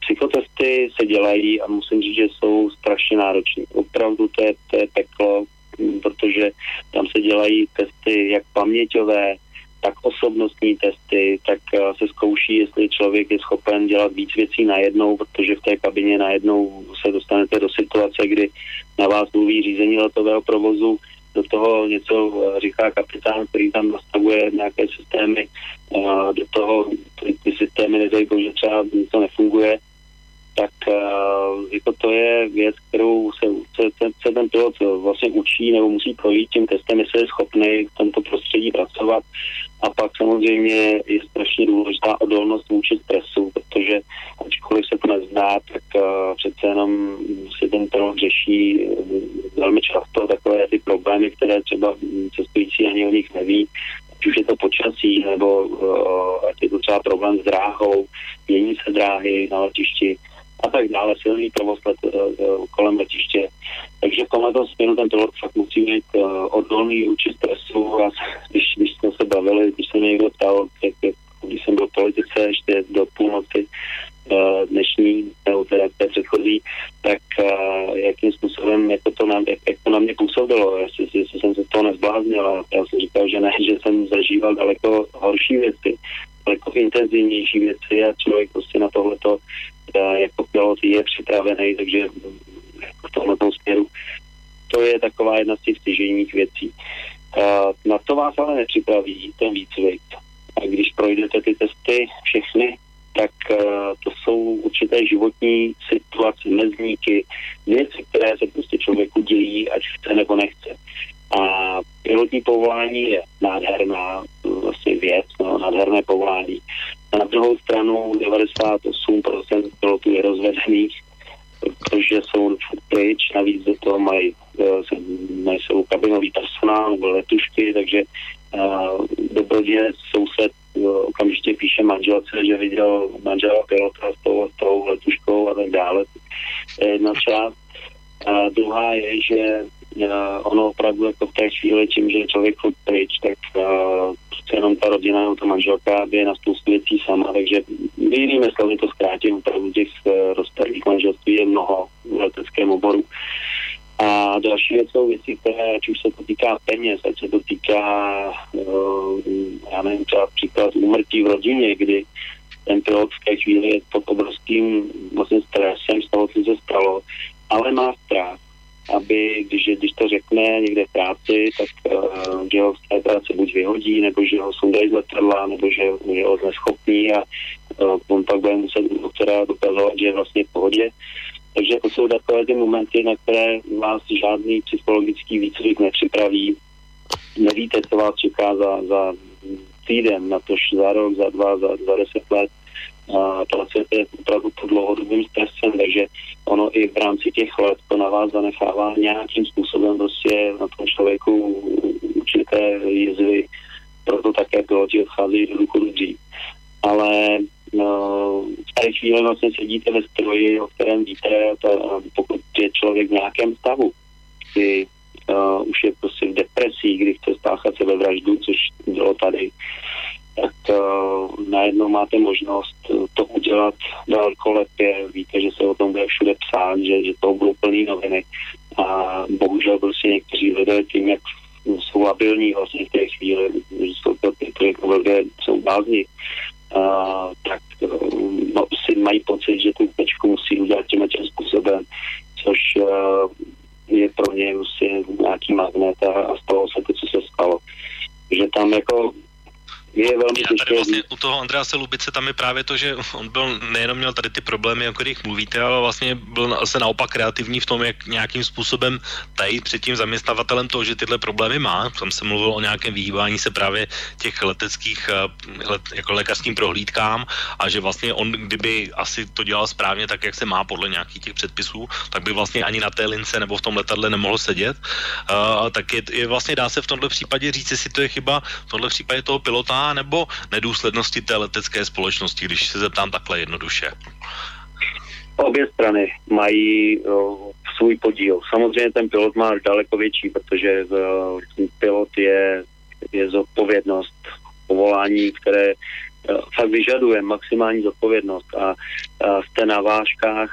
Psychotesty se dělají a musím říct, že jsou strašně náročné. Opravdu to je peklo. protože tam se dělají testy jak paměťové, tak osobnostní testy, tak se zkouší, jestli člověk je schopen dělat víc věcí najednou, protože v té kabině najednou se dostanete do situace, kdy na vás mluví řízení letového provozu, do toho něco říká kapitán, který tam nastavuje nějaké systémy, do toho ty systémy nedají, že třeba něco nefunguje, tak jako to je věc, kterou se ten pilot vlastně učí nebo musí projít tím testem, jestli je schopný v tomto prostředí pracovat. A pak samozřejmě je strašně důležitá odolnost vůči stresu, protože ačkoliv se to nezná, tak přece jenom si ten pilot řeší velmi často takové ty problémy, které třeba cestující ani o nich neví, ať už je to počasí, nebo ať je to třeba problém s dráhou, mění se dráhy na letišti a tak dále, silný provoz kolem letiště. Takže v tomhle směru ten pilot fakt musí být odolný vůči stresu a když jsme se bavili, když se mě někdo ptal, když jsem byl v politice ještě do půlnoci dnešní, nebo teda té předchozí, tak jakým způsobem, jak to na mě působilo, jestli jsem se z toho nezbláznil, a já jsem říkal, že ne, že jsem zažíval daleko horší věci, daleko intenzivnější věci a člověk prostě na tohleto jako pilot je připravený, takže v tomto směru to je taková jedna z těch stěžejních věcí. Na to vás ale nepřipraví ten výcvik. A když projdete ty testy všechny, tak to jsou určité životní situace, mezníky, věci, které se prostě člověku dějí, ať chce nebo nechce. A pilotní povolání je nádherná vlastně věc, nádherné povolání. A na druhou stranu 98% pilotů je rozvedených, protože jsou pryč, navíc do toho mají jsou kabinový personál nebo letušky, takže dobrodějec soused okamžitě píše manželce, že viděl manžela pilota s tou letuškou a tak dále. To je jedna část. A druhá je, že ono opravdu jako v té chvíli, tím, že člověk furt pryč, tak jenom ta rodina nebo ta manželka je na spoustu věcí sama, takže jinými slovy to zkrátím, opravdu těch rozpadlých manželství je mnoho v leteckém oboru. A další věc jsou věci, které, ať už se to týká peněz, ať se to týká, já nevím, třeba příklad úmrtí v rodině, kdy ten pilot v té chvíli je pod obrovským vlastně stresem z toho, co se stalo, ale má strach, aby, když to řekne někde v práci, tak že ho z té práce buď vyhodí, nebo že ho sundají z letadla, nebo že ho neschopní a on pak bude muset doktora dokazovat, že je vlastně v pohodě. Takže to jsou takové ty momenty, na které vás žádný psychologický výcvik nepřipraví. Nevíte, co vás čeká za týden, natož za rok, za 2, za 10 let. Pracujete opravdu pod dlouhodobým stresem, takže ono i v rámci těch let to na vás zanechává nějakým způsobem prostě na tom člověku určité jizvy, proto také piloti odcházejí do důchodu dřív. Ale v té chvíli vlastně sedíte ve stroji, o kterém víte, pokud je člověk v nějakém stavu, kdy už je prostě v depresii, kdy chce spáchat sebevraždu, což bylo tady, tak najednou máte možnost to udělat velkolepě, víte, že se o tom bude všude psát, že to budou plný noviny a bohužel prostě někteří lidé tím, jak jsou labilní vlastně v té chvíli, že jsou to ty, které jsou bázni, tak si mají pocit, že tu tečku musí udělat tím způsobem, což je pro ně prostě nějaký magnet a stalo se to, co se stalo. Že tam jako je velmi těžké. Tady vlastně u toho Andrease Lubice tam je právě to, že on byl nejenom měl tady ty problémy, o kterých mluvíte, ale vlastně byl se naopak kreativní v tom, jak nějakým způsobem tajit před tím zaměstnavatelem to, že tyhle problémy má. Tam se mluvil o nějakém vyhýbání se právě těch leteckých jako lékařským prohlídkám a že vlastně on, kdyby asi to dělal správně tak, jak se má podle nějakých těch předpisů, tak by vlastně ani na té lince nebo v tom letadle nemohl sedět. Tak je vlastně dá se v tomhle případě říct, jestli to je chyba v tomhle případě toho pilota nebo nedůslednosti té letecké společnosti, když se zeptám takhle jednoduše? Obě strany mají svůj podíl. Samozřejmě ten pilot má daleko větší, protože pilot je zodpovědnost povolání, které fakt vyžaduje maximální zodpovědnost a jste na vážkách,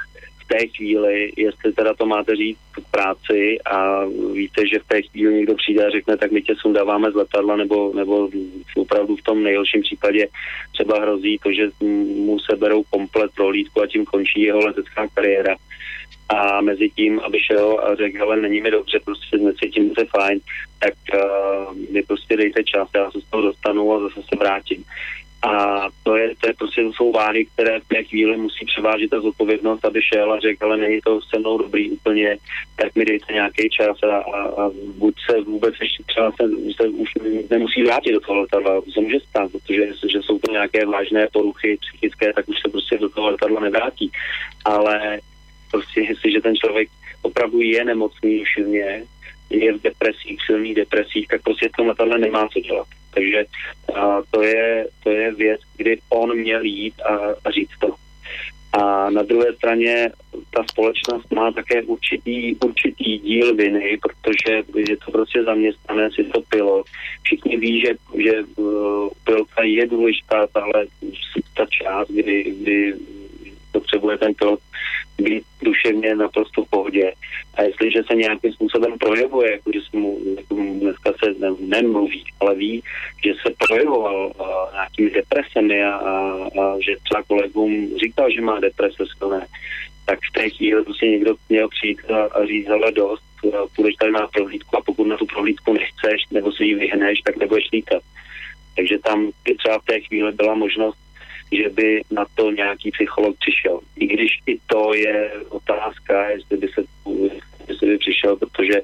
té chvíli, jestli teda to máte říct v práci a víte, že v té chvíli někdo přijde a řekne, tak my tě sundáváme z letadla, nebo opravdu v tom nejhorším případě třeba hrozí to, že mu seberou komplet prohlídku a tím končí jeho letecká kariéra. A mezi tím, aby šel a řekl, hele, není mi dobře, prostě necítím se fajn, tak mi prostě dejte čas, já se z toho dostanu a zase se vrátím. A to prostě to jsou váhy, které v té chvíli musí převážit ta zodpovědnost, aby šel a řekl, ale není to se mnou dobrý úplně, tak mi dejte nějaký čas a buď se vůbec ještě třeba se už nemusí vrátit do toho letadla, to se může stát, protože že jsou to nějaké vážné poruchy psychické, tak už se prostě do toho letadla nevrátí. Ale prostě jestliže ten člověk opravdu je nemocný silně, je v depresích, silných depresích, tak prostě v tom letadle nemá co dělat. Takže to je věc, kdy on měl jít a říct to. A na druhé straně ta společnost má také určitý díl viny, protože je to prostě zaměstnanec, je to pilot. Všichni ví, že pilota je důležitá ta část, kdy potřebuje ten pilot být duševně naprosto v pohodě. A jestliže se nějakým způsobem projevuje, jako že se mu dneska se nemluví, ale ví, že se projevoval nějakými depresemi a že třeba kolegům říkal, že má deprese silné, tak v té chvíli prostě někdo měl přijít a říct, ale dost, půjdeš tady na prohlídku a pokud na tu prohlídku nechceš nebo se jí vyhneš, tak nebudeš lítat. Takže tam třeba v té chvíli byla možnost, že by na to nějaký psycholog přišel. I když i to je otázka, jestli by přišel, protože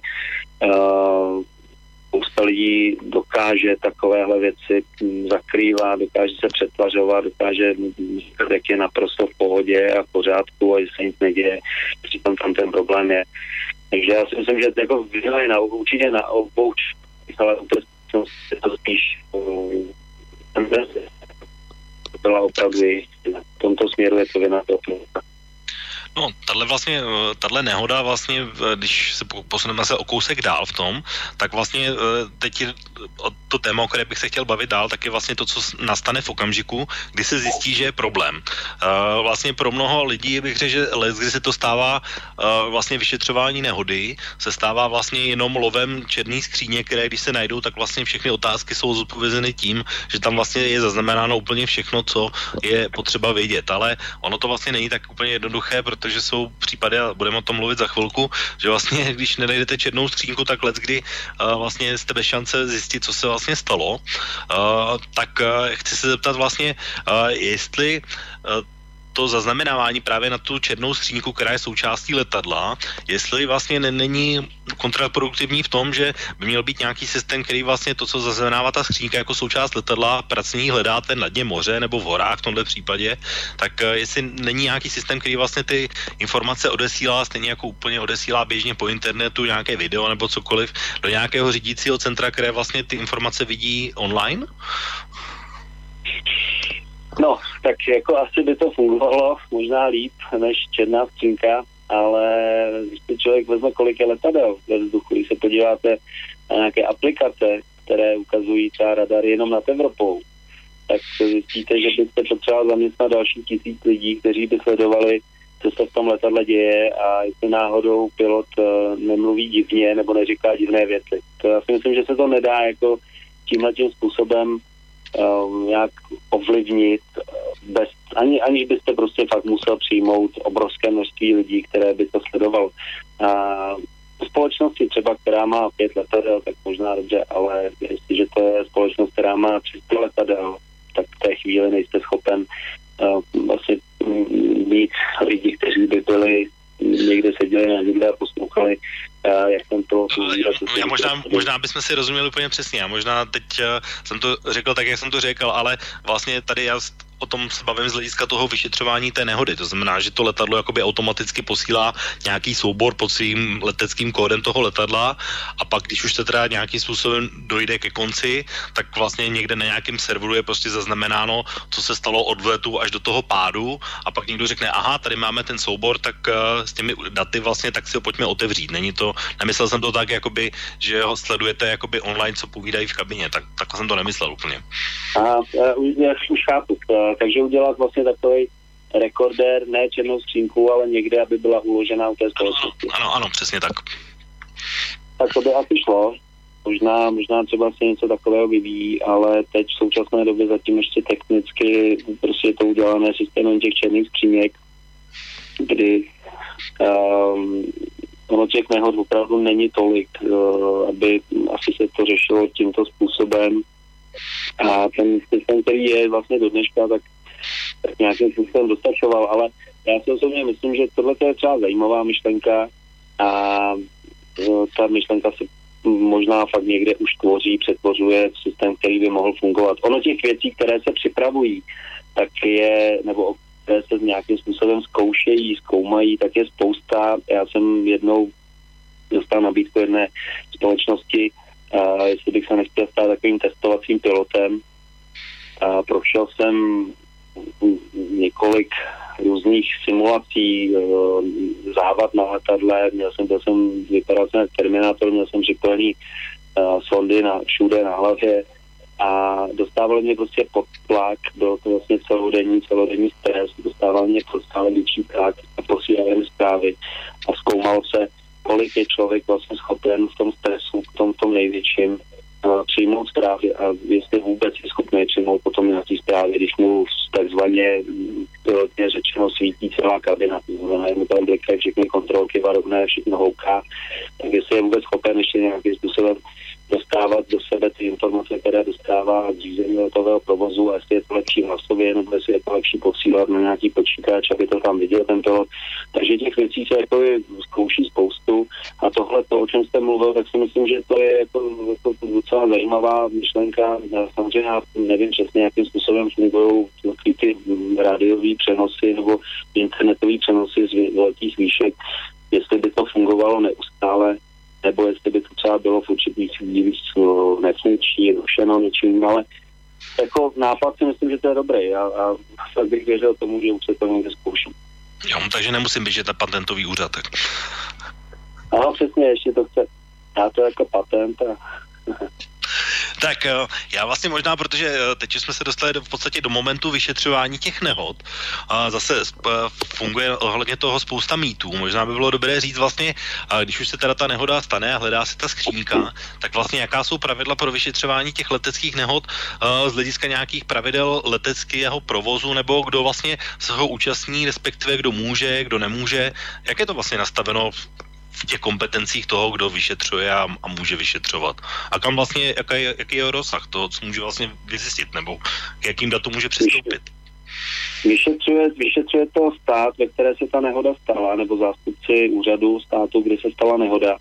spousta lidí dokáže takovéhle věci zakrývat, dokáže se přetvařovat, dokáže říkat, jak je naprosto v pohodě a v pořádku a že se nic neděje. Přitom tam ten problém je. Takže já si myslím, že jako vyhledají určitě na obou, ale je to spíš byla opravdu jistina. V tomto směru je to vina toho. No, tahle nehoda vlastně, když se posuneme se o kousek dál v tom, tak vlastně teď to téma, o které bych se chtěl bavit dál, tak je vlastně to, co nastane v okamžiku, kdy se zjistí, že je problém. Vlastně pro mnoho lidí bych řekl, že kdy se to stává vlastně vyšetřování nehody, se stává vlastně jenom lovem černý skříně, které když se najdou, tak vlastně všechny otázky jsou zodpovězeny tím, že tam vlastně je zaznamenáno úplně všechno, co je potřeba vědět. Ale ono to vlastně není tak úplně jednoduché, protože jsou případy, a budeme o tom mluvit za chvilku, že vlastně, když nenajdete černou skřínku, tak leckdy vlastně jste bez šance zjistit, co se vlastně stalo. Tak chci se zeptat vlastně, jestli to zaznamenávání právě na tu černou skřínku, která je součástí letadla, jestli vlastně není kontraproduktivní v tom, že by měl být nějaký systém, který vlastně to, co zaznamenává ta skřínka jako součást letadla, pracně hledáte na dně moře nebo v horách v tomhle případě, tak jestli není nějaký systém, který vlastně ty informace odesílá, stejně jako úplně odesílá běžně po internetu nějaké video nebo cokoliv do nějakého řídícího centra, které vlastně ty informace vidí online? No, tak jako asi by to fungovalo možná líp než černá skřínka, ale když si člověk vezme, kolik je letadel ve vzduchu, když se podíváte na nějaké aplikace, které ukazují třeba radar jenom nad Evropou, tak zjistíte, že byste potřeboval zaměstnat další 1000 lidí, kteří by sledovali, co se v tom letadle děje a jestli náhodou pilot nemluví divně nebo neříká divné věci. To já si myslím, že se to nedá jako tímhletím způsobem nějak ovlivnit, aniž byste prostě fakt musel přijmout obrovské množství lidí, které by to sledovalo. A v společnosti třeba, která má 5 letadel, tak možná dobře, ale jestliže to je společnost, která má 300 letadel, tak v té chvíli nejste schopen vlastně mít lidi, kteří by byli někde seděli na někde a poslouchali, jak jsem to... Možná bychom si rozuměli úplně přesně. A možná teď jsem to řekl tak, jak jsem to řekl, ale vlastně tady já o tom se bavím z hlediska toho vyšetřování té nehody. To znamená, že to letadlo jakoby automaticky posílá nějaký soubor pod svým leteckým kódem toho letadla a pak, když už se teda nějakým způsobem dojde ke konci, tak vlastně někde na nějakém serveru je prostě zaznamenáno, co se stalo od vletu až do toho pádu a pak někdo řekne, aha, tady máme ten soubor, tak s těmi daty vlastně tak si ho pojďme otevřít. Není to, nemyslel jsem to tak, jakoby, že ho sledujete jakoby online, co povídají v kabině, tak jsem to nemyslel úplně. Já už chápu. Takže udělat vlastně takový rekordér, ne černou skřínku, ale někde, aby byla uložená u té společnosti. Ano, přesně tak. Tak to by asi šlo. Možná třeba se něco takového vyvíjí, ale teď v současné době zatím ještě technicky prostě je to udělané systémem těch černých skříněk, kdy ono těch nehod opravdu není tolik, aby asi se to řešilo tímto způsobem. A ten systém, který je vlastně do dneška, tak nějakým způsobem dostačoval, ale já si osobně myslím, že tohle je třeba zajímavá myšlenka a ta myšlenka se možná fakt někde už přetvořuje systém, který by mohl fungovat. Ono těch věcí, které se připravují, tak je, nebo které se nějakým způsobem zkoumají, tak je spousta. Já jsem jednou dostal nabídku jedné společnosti, jestli bych se nechtěl stát takovým testovacím pilotem. Prošel jsem několik různých simulací, závad na letadle, byl jsem vypadal jsem Terminátor, měl jsem připojený sondy všude na hlavě a dostával mě prostě pod tlak, byl to vlastně celodenní stres, dostával mě pod stále větší tlak a posílal mi zprávy a zkoumalo se, kolik je člověk vlastně schopen v tom stresu, v tom největším přijmout zprávy a jestli vůbec je schopný přijmout potom nějaký zprávy, když mu takzvaně pilotně řečeno svítí celá kabina, to znamená, mu tam blikají všechny kontrolky varovné, všechno houká, tak jestli je vůbec schopen ještě nějakým způsobem dostávat do sebe ty informace, které dostává z řízení letového provozu, a jestli je to lepší hlasově, nebo jestli je to lepší posílat na nějaký počítač, aby to tam viděl ten pilot. Takže těch věcí se jako zkouší spoustu a tohle, o čem jste mluvil, tak si myslím, že to je jako docela zajímavá myšlenka. Samozřejmě já nevím přesně, jakým způsobem fungují ty rádiové přenosy nebo internetové přenosy z velkých výšek, jestli by to fungovalo neustále, nebo jestli by to třeba bylo v určitých chvílích nefunkční, rušeno něčím, ale jako nápad si myslím, že to je dobrý a tak bych věřil tomu, že už se to někde zkouší. Jo, takže nemusím běžet na patentový úřad, tak. Ano, přesně, ještě to chce. Já to jako patent a... Tak já vlastně možná, protože teď jsme se dostali v podstatě do momentu vyšetřování těch nehod a zase funguje ohledně toho spousta mýtů. Možná by bylo dobré říct vlastně, když už se teda ta nehoda stane a hledá se ta skřínka, tak vlastně jaká jsou pravidla pro vyšetřování těch leteckých nehod z hlediska nějakých pravidel leteckého provozu, nebo kdo vlastně se ho účastní, respektive kdo může, kdo nemůže. Jak je to vlastně nastaveno v těch kompetencích toho, kdo vyšetřuje a může vyšetřovat. A kam vlastně, jaký je rozsah toho, co může vlastně vyzjistit, nebo k jakým datům může přistoupit? Vyšetřuje to stát, ve které se ta nehoda stala, nebo zástupci úřadu státu, kde se stala nehoda.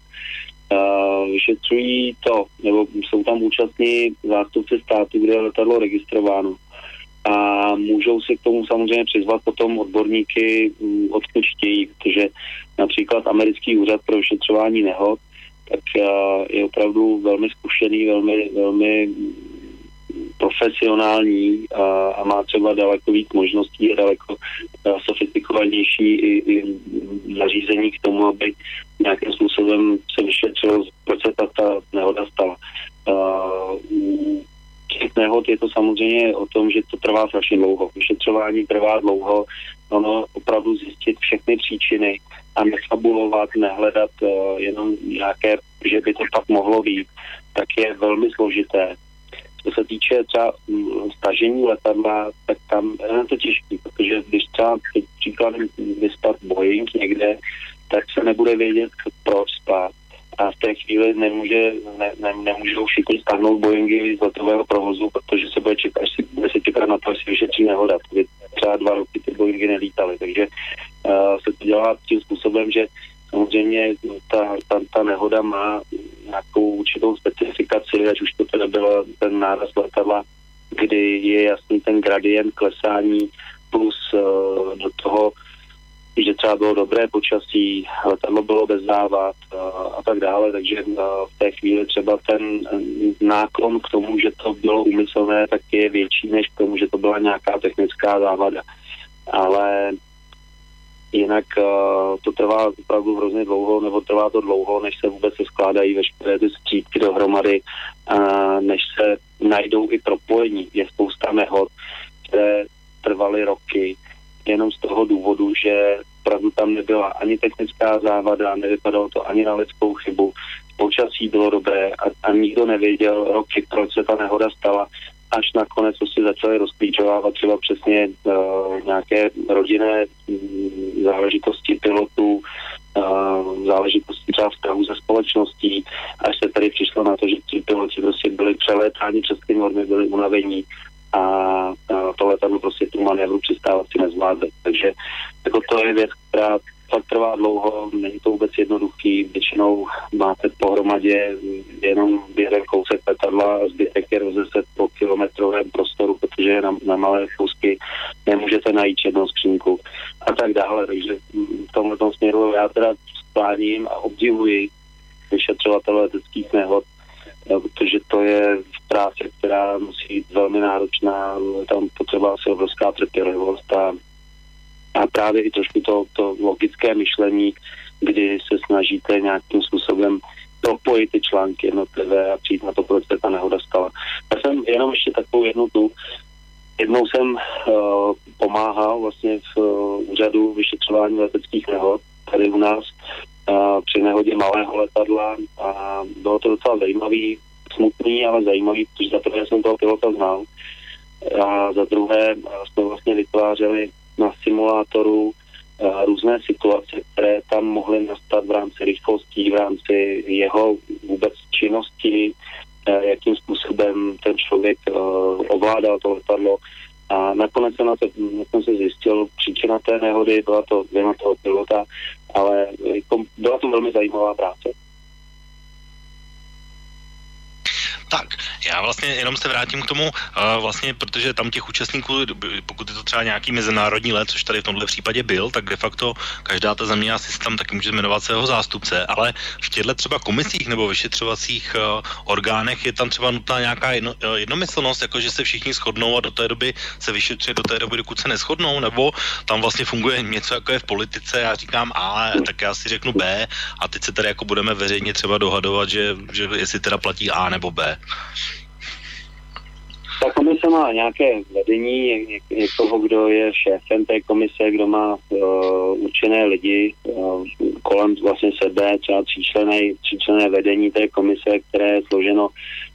Vyšetřují to, nebo jsou tam účastní zástupci státu, kde je letadlo registrováno. A můžou si k tomu samozřejmě přizvat potom odborníky, odkud chtějí, protože například americký úřad pro vyšetřování nehod, tak je opravdu velmi zkušený, velmi profesionální a má třeba daleko víc možností a daleko sofistikovanější i nařízení k tomu, aby nějakým způsobem se vyšetřilo, proč se ta nehoda stala. Těch nehod je to samozřejmě o tom, že to trvá strašně dlouho. Vyšetřování trvá dlouho, ono opravdu zjistit všechny příčiny a nefabulovat, nehledat jenom nějaké, že by to pak mohlo být, tak je velmi složité. Co se týče třeba stažení letadla, tak tam je to těžké, protože když třeba příkladem vyspat Boeing někde, tak se nebude vědět, proč spát. A v té chvíli nemůžou všichni stáhnout Boeingy z letového provozu, protože se bude čekat na to, jestli vyšetří nehoda. Třeba 2 roky ty Boeingy nelítaly, takže se to dělá tím způsobem, že samozřejmě ta nehoda má nějakou určitou specifikaci, ať už to teda byl ten náraz letadla, kdy je jasný ten gradient klesání plus do toho, že třeba bylo dobré počasí, letadlo bylo bez závad a tak dále, takže v té chvíli třeba ten náklon k tomu, že to bylo úmyslné, tak je větší než k tomu, že to byla nějaká technická závada. Ale jinak to trvá opravdu hrozně dlouho, nebo trvá to dlouho, než se vůbec skládají veškeré ty střípky dohromady, než se najdou i propojení. Je spousta nehod, které trvaly roky, jenom z toho důvodu, že opravdu tam nebyla ani technická závada, nevypadalo to ani na lidskou chybu, počasí bylo dobré a nikdo nevěděl roky, proč se ta nehoda stala, až nakonec si začaly rozklíčovávat třeba přesně nějaké rodinné záležitosti pilotů, záležitosti třeba vztahu ze společností, až se tady přišlo na to, že ti piloti prostě byli přelétáni přes ty normy, byli unavení a to letadlo prostě tu manévru přistávat si nezvládli. Takže jako to je věc, která fakt trvá dlouho, není to vůbec jednoduchý, většinou máte pohromadě jenom jeden kousek letadla a zbytek je rozezet po kilometrovém prostoru, protože je na malé kousky nemůžete najít jednou skřínku a tak dále. Takže v tomto směru já teda skláním a obdivuji vyšetřovatele leteckých nehod, protože to je práce, která musí být velmi náročná, tam potřeba asi obrovská trpělivost a právě i trošku to logické myšlení, kdy se snažíte nějakým způsobem propojit ty články jednotlivé a přijít na to, proč se ta nehoda stala. Já jsem jenom ještě takovou jednou jsem pomáhal vlastně v úřadu vyšetřování leteckých nehod tady u nás při nehodě malého letadla a bylo to docela zajímavý, smutný, ale zajímavý, protože za prvé jsem toho pilota znal a za druhé jsme vlastně vytvářeli na simulátoru různé situace, které tam mohly nastat v rámci rychlostí, v rámci jeho vůbec činnosti, jakým způsobem ten člověk ovládal to letadlo. A nakonec jsem se zjistil, příčina té nehody byla to vina toho pilota, ale byla to velmi zajímavá práce. Tak, já vlastně jenom se vrátím k tomu, vlastně, protože tam těch účastníků, pokud je to třeba nějaký mezinárodní let, což tady v tomhle případě byl, tak de facto každá ta země asi tam taky může jmenovat svého zástupce, ale v těchto třeba komisích nebo vyšetřovacích orgánech je tam třeba nutná nějaká jednomyslnost, jakože se všichni shodnou a do té doby se vyšetřuje do té doby, dokud se neshodnou, nebo tam vlastně funguje něco, jako je v politice, já říkám A, tak já si řeknu B a teď se tady jako budeme veřejně třeba dohadovat, že jestli teda platí A nebo B. Ta komise má nějaké vedení, někoho, kdo je šéfem té komise, kdo má určené lidi kolem vlastně sebe, třeba tříčlenné vedení té komise, které je složeno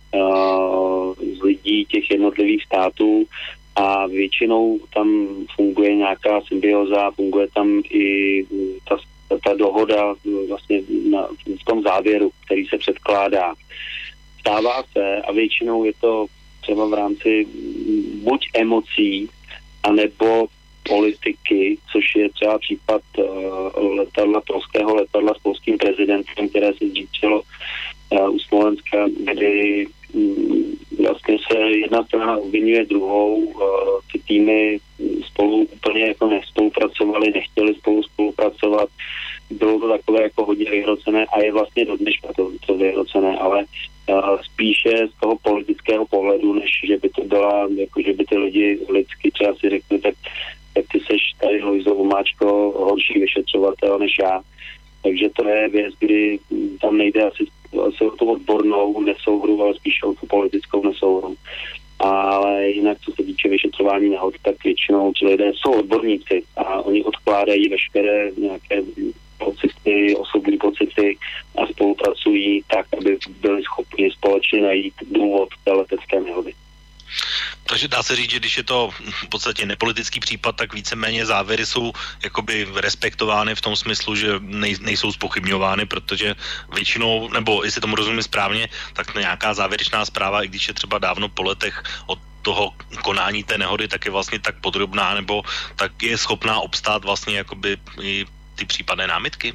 z lidí těch jednotlivých států a většinou tam funguje nějaká symbioza, funguje tam i ta dohoda vlastně v tom závěru, který se předkládá. Stává se a většinou je to třeba v rámci buď emocí, anebo politiky, což je třeba případ polského letadla s polským prezidentem, které se zřítilo u Smolenska, kdy vlastně se jedna strana obvinuje druhou, ty týmy spolu úplně jako nespolupracovali, nechtěli spolupracovat, bylo to takové jako hodně vyhrocené a je vlastně do dneška to vyhrocené, ale spíše z toho politického pohledu, než že by to byla, jako že by ty lidi lidsky třeba si řekli, tak ty seš tady Lojzo Vomáčko horší vyšetřovatel než já. Takže to je věc, kdy tam nejde asi o tu odbornou nesouhru, ale spíše o tu politickou nesouhru. Ale jinak, co se týče vyšetřování nehod, tak většinou ti lidé jsou odborníci a oni odkládají veškeré nějaké pocity, osobní pocity a spolupracují tak, aby byli schopni společně najít důvod té letecké nehody. Takže dá se říct, že když je to v podstatě nepolitický případ, tak víceméně závěry jsou jakoby respektovány v tom smyslu, že nejsou zpochybňovány, protože většinou, nebo jestli tomu rozumím správně, tak nějaká závěrečná zpráva, i když je třeba dávno po letech od toho konání té nehody, tak je vlastně tak podrobná, nebo tak je schopná obstát vlastně jakoby i ty případné námitky?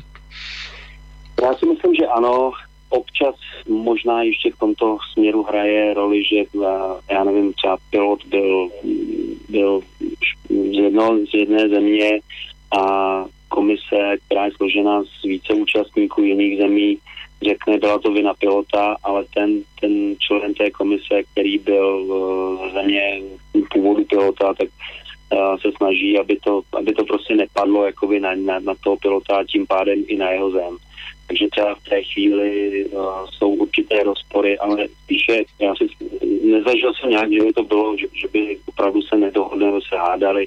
Já si myslím, že ano. Občas možná ještě v tomto směru hraje roli, že já nevím, třeba pilot byl z jedné země a komise, která je složena z více účastníků jiných zemí, řekne, byla to vina pilota, ale ten člen té komise, který byl ze země původu pilota, tak se snaží, aby to prostě nepadlo jakoby na toho pilota a tím pádem i na jeho zem. Takže třeba v té chvíli jsou určité rozpory, ale spíše já si nezažil jsem nějak, že by to bylo, že by opravdu se nedohodli nebo se hádali.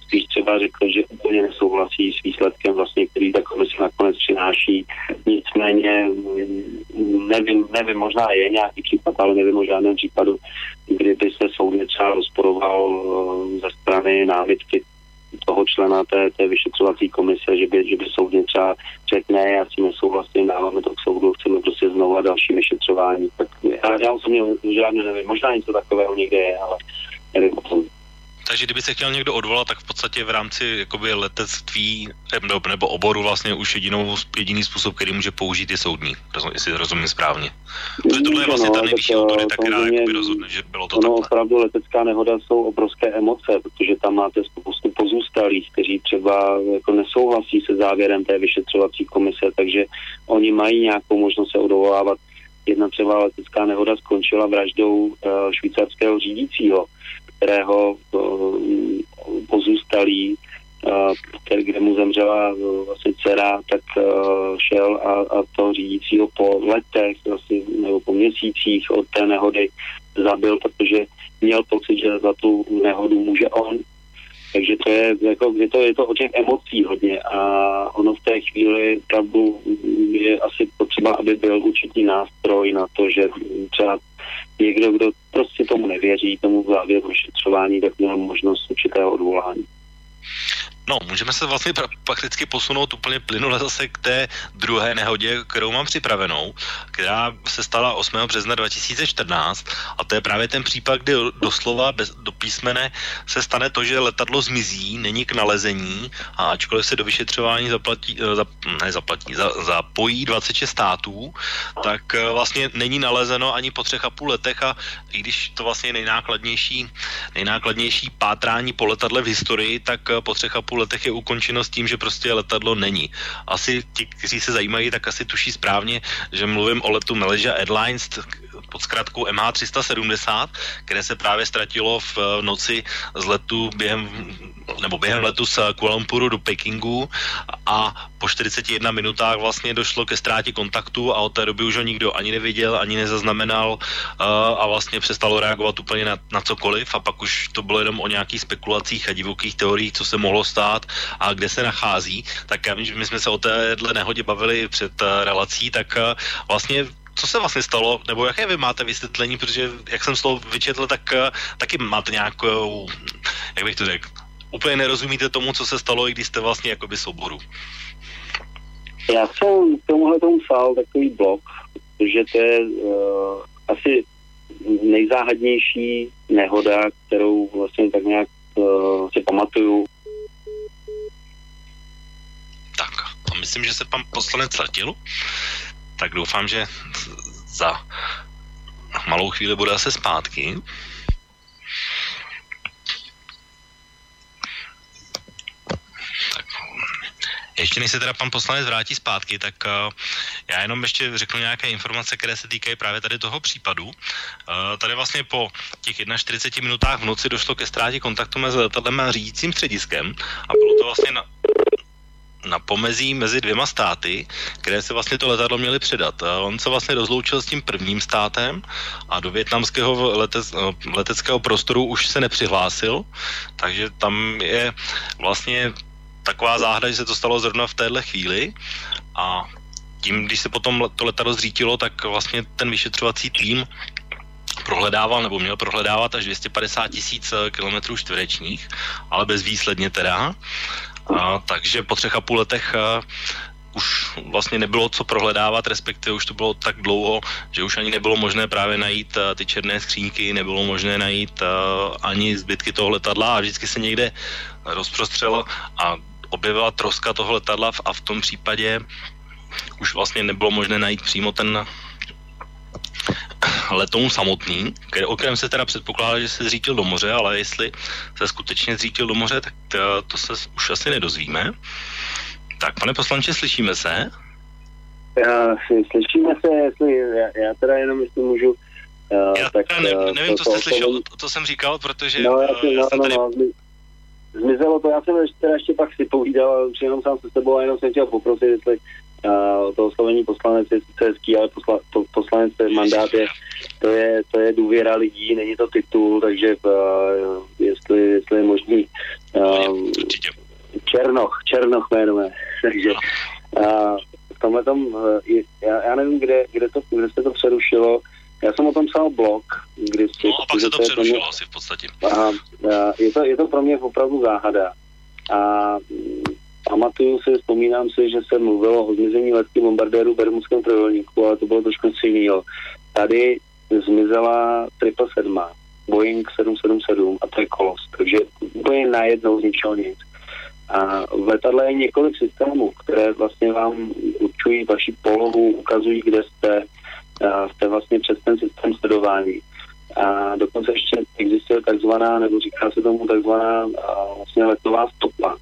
spíš třeba řekl, že úplně nesouhlasí s výsledkem vlastně, který ta komise nakonec přináší. Nicméně nevím, možná je nějaký případ, ale nevím o žádném případu, kdyby se soudně třeba rozporoval ze strany námitky toho člena té vyšetřovací komise, že by soudně třeba řekne, já si nesouhlasím, dáváme to k soudu, chceme prostě znovu další vyšetřování. Tak já osobně žádně nevím, možná něco takového někde je, ale nevím o tom. Takže kdyby se chtěl někdo odvolat, tak v podstatě v rámci jakoby letectví nebo oboru vlastně už jediný způsob, který může použít, je soudní, jestli rozumím správně. Protože tohle je vlastně ta nejvyšší autorita, která jakoby rozhodne, že bylo to takhle. Opravdu letecká nehoda jsou obrovské emoce, protože tam máte spoustu pozůstalých, kteří třeba jako nesouhlasí se závěrem té vyšetřovací komise, takže oni mají nějakou možnost se odvolávat. Jedna třeba letecká nehoda skončila vraždou švýcarského řídícího, kterého pozůstalý, kde mu zemřela vlastně dcera, tak šel a toho řídícího po letech vlastně, nebo po měsících od té nehody zabil, protože měl pocit, že za tu nehodu může on. Takže to je, jako, je to o těch emocí hodně a ono v té chvíli opravdu je asi potřeba, aby byl určitý nástroj na to, že třeba někdo, kdo prostě tomu nevěří, tomu závěru vyšetřování, tak měl možnost určitého odvolání. No, můžeme se vlastně prakticky posunout úplně plynule zase k té druhé nehodě, kterou mám připravenou, která se stala 8. března 2014 a to je právě ten případ, kdy doslova do písmene se stane to, že letadlo zmizí, není k nalezení a ačkoliv se do vyšetřování zapojí 26 států, tak vlastně není nalezeno ani po 3,5 letech a i když to vlastně je nejnákladnější pátrání po letadle v historii, tak po 3,5 letech je ukončeno s tím, že prostě letadlo není. Asi ti, kteří se zajímají, tak asi tuší správně, že mluvím o letu Malaysia Airlines pod zkratkou MH370, které se právě ztratilo v noci z letu během letu z Kuala Lumpuru do Pekingu a po 41 minutách vlastně došlo ke ztrátě kontaktu a od té doby už ho nikdo ani neviděl, ani nezaznamenal a vlastně přestalo reagovat úplně na cokoliv a pak už to bylo jenom o nějakých spekulacích a divokých teoriích, co se mohlo stát a kde se nachází. Tak já vím, že my jsme se o téhle nehodě bavili před relací, tak vlastně co se vlastně stalo, nebo jaké vy máte vysvětlení, protože jak jsem to vyčetl, tak taky máte nějakou, jak bych to řekl, úplně nerozumíte tomu, co se stalo, i když jste vlastně jakoby z oboru. Já jsem k tomuhle tomu psal takový blog, protože to je asi nejzáhadnější nehoda, kterou vlastně tak nějak si pamatuju. Tak a myslím, že se pan poslanec ztratil, tak doufám, že za malou chvíli bude asi zpátky. Ještě než se teda pan poslanec vrátí zpátky, tak já jenom ještě řeknu nějaké informace, které se týkají právě tady toho případu. Tady vlastně po těch 41 minutách v noci došlo ke ztrátě kontaktu mezi letadlem a řídícím střediskem a bylo to vlastně na pomezí mezi dvěma státy, které se vlastně to letadlo měly předat. On se vlastně rozloučil s tím prvním státem a do vietnamského leteckého prostoru už se nepřihlásil, takže tam je vlastně taková záhada, že se to stalo zrovna v téhle chvíli a tím, když se potom to letadlo zřítilo, tak vlastně ten vyšetřovací tým prohledával, nebo měl prohledávat až 250 000 kilometrů čtverečních, ale bezvýsledně teda. Takže po 3,5 letech už vlastně nebylo co prohledávat, respektive už to bylo tak dlouho, že už ani nebylo možné právě najít ty černé skříňky, nebylo možné najít ani zbytky toho letadla a vždycky se někde rozprostřelo a objevila troska toho letadla a v tom případě už vlastně nebylo možné najít přímo ten letoun samotný, o kterém se teda předpokládá, že se zřítil do moře, ale jestli se skutečně zřítil do moře, tak to se už asi nedozvíme. Tak, pane poslanče, slyšíme se? Slyšíme se, já teda jenom, jestli můžu... Já tak, nevím, co jste slyšel, to jsem říkal, protože... Zmizelo to, já jsem ještě pak si povídal, už jenom sám se sebou a jenom jsem chtěl poprosit, jestli to oslovení poslanec je sice hezký, ale poslanec mandát to je důvěra lidí, není to titul, takže jestli je možný Černoch jmenuje. Takže v tomhletom, já nevím, kde se to přerušilo. Já jsem o tom psal blog, No a pak se to přerušilo asi v podstatě. Je to pro mě opravdu záhada. A vzpomínám si, že se mluvilo o zmizení leteckých bombardérů v Bermudském trojúhelníku, ale to bylo trošku něco jiného. Tady zmizela 777, Boeing 777 a to je kolos, takže úplně najednou z ničeho nic. A v letadle je několik systémů, které vlastně vám určují vaši polohu, ukazují, kde jste vlastně přes ten systém sledování. A dokonce ještě existuje takzvaná, nebo říká se tomu takzvaná vlastně letová stopa,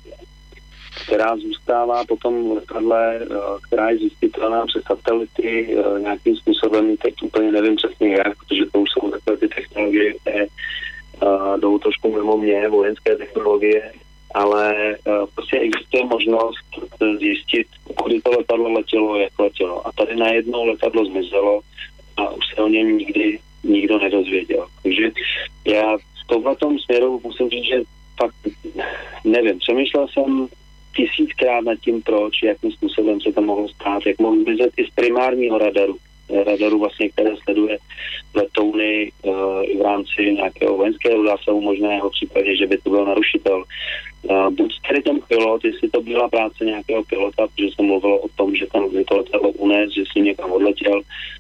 která zůstává potom v letadle, která je zjistitelná přes satelity nějakým způsobem, teď úplně nevím přesně jak, protože to už jsou takové ty technologie, které jdou trošku mimo mě, vojenské technologie, ale prostě existuje možnost zjistit, kudy to letadlo letělo, jak letělo. A tady najednou letadlo zmizelo a už se o něm nikdo nedozvěděl. Takže já v tomhletom směru musím říct, že fakt nevím. Přemýšlel jsem 1000krát nad tím, proč, jakým způsobem se to mohlo stát, jak mohl zmizet i z primárního radaru vlastně, které sleduje letouny v rámci nějakého vojenského zásahu možného v případě, že by to byl narušitel. Buď tedy ten pilot, jestli to byla práce nějakého pilota, protože se mluvilo o tom, že tam to letadlo unes, že s ním někam odletěl,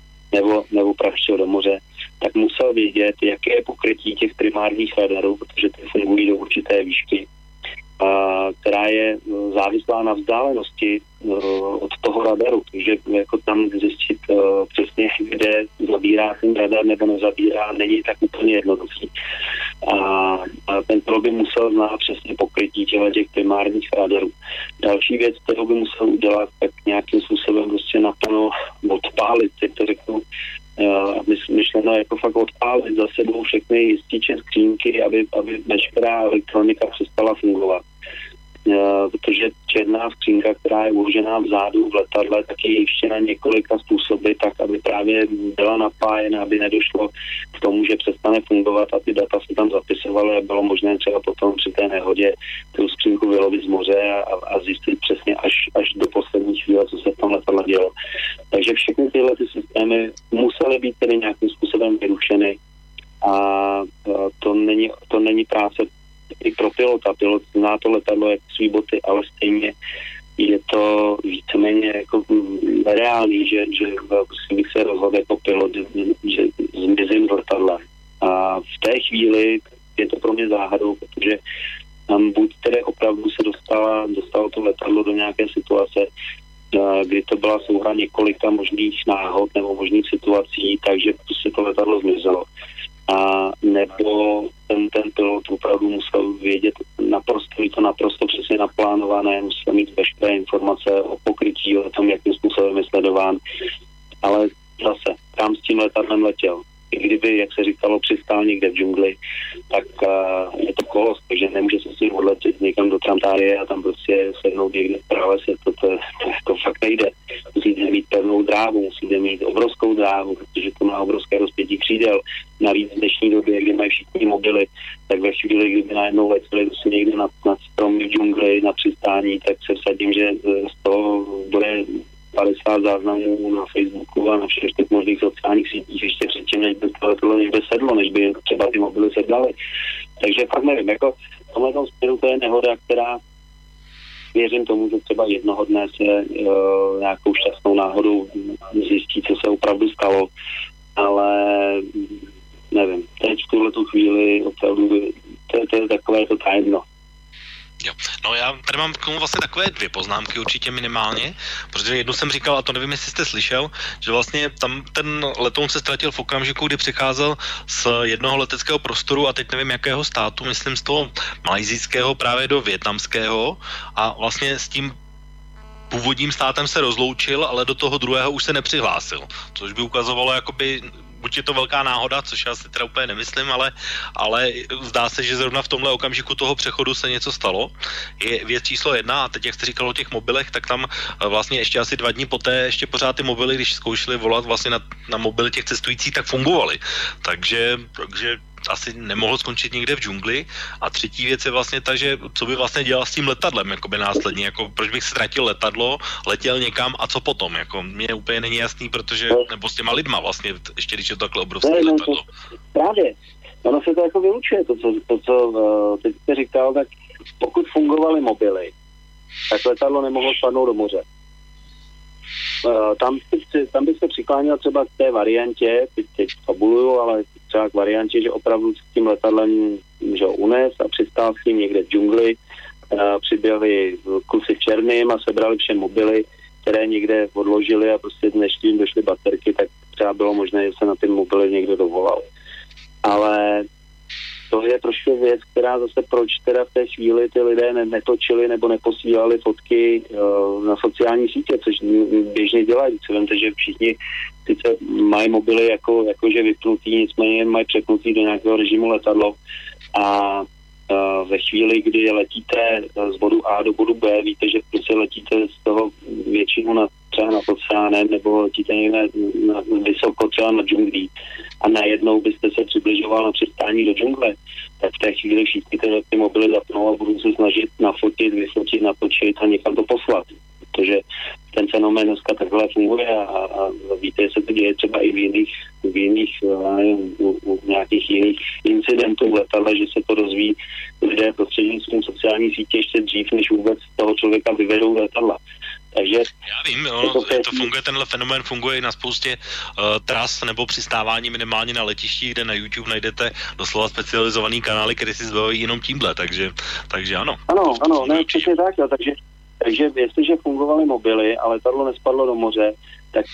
nebo praštil do moře, tak musel vědět, jaké je pokrytí těch primárních radarů, protože ty fungují do určité výšky, která je závislá na vzdálenosti od toho radaru, takže jako tam zjistit přesně, kde zabírá ten radar nebo nezabírá, není tak úplně jednoduchý. A ten pilot by musel znát přesně pokrytí těch primárních radarů. Další věc, kterou by musel udělat, tak nějakým způsobem prostě naplno odpálit, jak to řeknu, myšleno jako fakt odpálit za sebou všechny jističe, skřínky, aby veškerá elektronika přestala fungovat. Protože černá skřínka, která je uložená vzadu v letadle, tak je jištěna několika způsoby, tak aby právě byla napájena, aby nedošlo k tomu, že přestane fungovat a ty data se tam zapisovaly a bylo možné třeba potom při té nehodě tu skřínku vylovit z moře a zjistit přesně až do poslední chvíle, co se v tom letadle dělo. Takže všechny tyhle ty systémy musely být tedy nějakým způsobem vyrušeny a to není práce i pro pilota. Pilot zná to letadlo jako svý boty, ale stejně je to víceméně jako reálný, že bych se rozhodl jako pilot, že zmizím z letadla. A v té chvíli je to pro mě záhadou, protože tam buď tedy opravdu se dostalo to letadlo do nějaké situace, kdy to byla souhra několika možných náhod nebo možných situací, takže prostě to letadlo zmizelo. A nebo ten pilot opravdu musel vědět naprosto přesně naplánované, musel mít veškeré informace o pokrytí, o tom, jakým způsobem je sledován. Ale zase, tam s tím letadlem letěl. I kdyby, jak se říkalo, přistál někde v džungli, tak je to kolos, takže nemůže se s tím odletět někam do Trantárie a tam prostě sednout někde v pralese, to fakt nejde. Musíte mít pevnou dráhu, musíte mít obrovskou dráhu, protože to má obrovské rozpětí křídel. Navíc v dnešní době, kdy mají všichni mobily, tak ve chvíli, kdyby najednou letěli prostě někde nad stromy v džungli, na přistání, tak se vsadím, že z toho bude 50 záznamů na Facebooku a na všech těch možných sociálních sítích ještě předtím, než by to někde sedlo, než by třeba ty mobily sedlaly. Takže fakt nevím, jako v tomhle směru to je nehoda, která věřím tomu, že třeba jednoho dne se nějakou šťastnou náhodou zjistí, co se opravdu stalo, ale nevím, teď v tuhletu chvíli opravdu to je takové to tajemno. Jo. No já tady mám k tomu vlastně takové 2 poznámky určitě minimálně, protože jednu jsem říkal, a to nevím, jestli jste slyšel, že vlastně tam ten letoun se ztratil v okamžiku, kdy přicházel z jednoho leteckého prostoru a teď nevím jakého státu, myslím z toho malajsijského právě do vietnamského a vlastně s tím původním státem se rozloučil, ale do toho druhého už se nepřihlásil, což by ukazovalo jakoby buď je to velká náhoda, což já si teda úplně nemyslím, ale zdá se, že zrovna v tomhle okamžiku toho přechodu se něco stalo. Je věc číslo 1 a teď, jak jste říkal o těch mobilech, tak tam vlastně ještě asi 2 dny poté ještě pořád ty mobily, když zkoušeli volat vlastně na mobily těch cestujících, tak fungovaly. Takže asi nemohl skončit někde v džungli. A třetí věc je vlastně ta, že co by vlastně dělal s tím letadlem, jakoby následně, jako proč bych ztratil letadlo, letěl někam a co potom, jako mně úplně není jasný, protože, nebo s těma lidma vlastně, ještě když je to takhle obrovské letadlo. Právě, ono se to jako vylučuje, to co teď jste říkal, tak pokud fungovaly mobily, tak letadlo nemohlo spadnout do moře. Tam bych se přikláněl třeba k té variantě, teď fabuluju, ale třeba k variantě, že opravdu s tím letadlem že ho unes a přistál s ním někde v džungli, přiběhli kusy černým a sebrali vše mobily, které někde odložili a prostě než tím došly baterky, tak třeba bylo možné, že se na ty mobily někdo dovolal. Ale to je trošku věc, která zase proč teda v té chvíli ty lidé netočili nebo neposílali fotky na sociální sítě, což běžně dělají. Co vemte, že všichni sice mají mobily jakože vypnutý, nicméně mají přepnutý do nějakého režimu letadlo a ve chvíli, kdy letíte z bodu A do bodu B, víte, že prostě letíte z toho většinu třeba nad oceánem nebo letíte někde vysoko třeba na džunglí a najednou byste se přibližoval na přistání do džungle, tak v té chvíli všichni ty mobily zapnou a budou se snažit nafotit, vyfotit, natočit a někam to poslat. Protože ten fenomén dneska takhle funguje a víte, že se to děje třeba i v jiných u nějakých jiných incidentů v letadle, že se to rozvíjí lidé prostřednictvím sociální sítě ještě dřív, než vůbec toho člověka vyvedou letadla. Takže já vím, to funguje, tenhle fenomén funguje i na spoustě tras nebo přistávání minimálně na letišti, kde na YouTube najdete doslova specializovaný kanály, které si zbavují jenom tímhle, takže ano. Ano, ne, přesně tak, jo, takže jestliže fungovaly mobily a letadlo nespadlo do moře, tak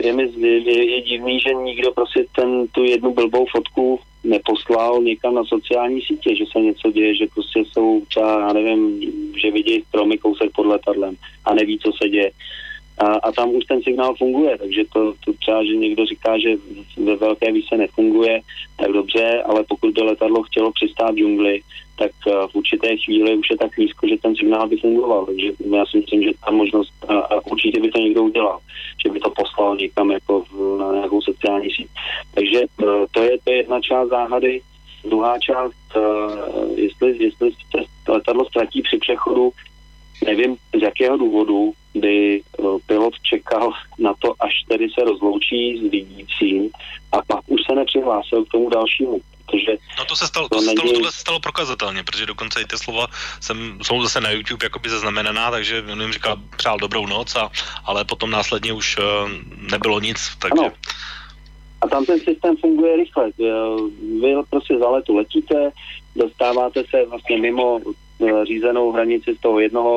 je divný, že nikdo prostě tu jednu blbou fotku neposlal někam na sociální sítě, že se něco děje, že prostě jsou třeba, já nevím, že vidějí stromy kousek pod letadlem a neví, co se děje. A tam už ten signál funguje, takže to třeba, že někdo říká, že ve velké výše nefunguje, tak dobře, ale pokud by letadlo chtělo přistát v džungli, tak v určité chvíli už je tak nízko, že ten signál by fungoval. Takže já si myslím, že ta možnost, a určitě by to někdo udělal, že by to poslal někam jako na nějakou sociální síť. Takže to je jedna část záhady. Druhá část, jestli se letadlo ztratí při přechodu, nevím z jakého důvodu by pilot čekal na to, až tedy se rozloučí s vidícím a pak už se nepřihlásil k tomu dalšímu. Protože no to se stalo prokazatelně, protože dokonce i ty slova jsou zase na YouTube jakoby zaznamenaná, že on jim říkal přál dobrou noc, ale potom následně už nebylo nic, takže... Ano. A tam ten systém funguje rychle. Vy prostě za letu letíte, dostáváte se vlastně mimo řízenou hranici z toho jednoho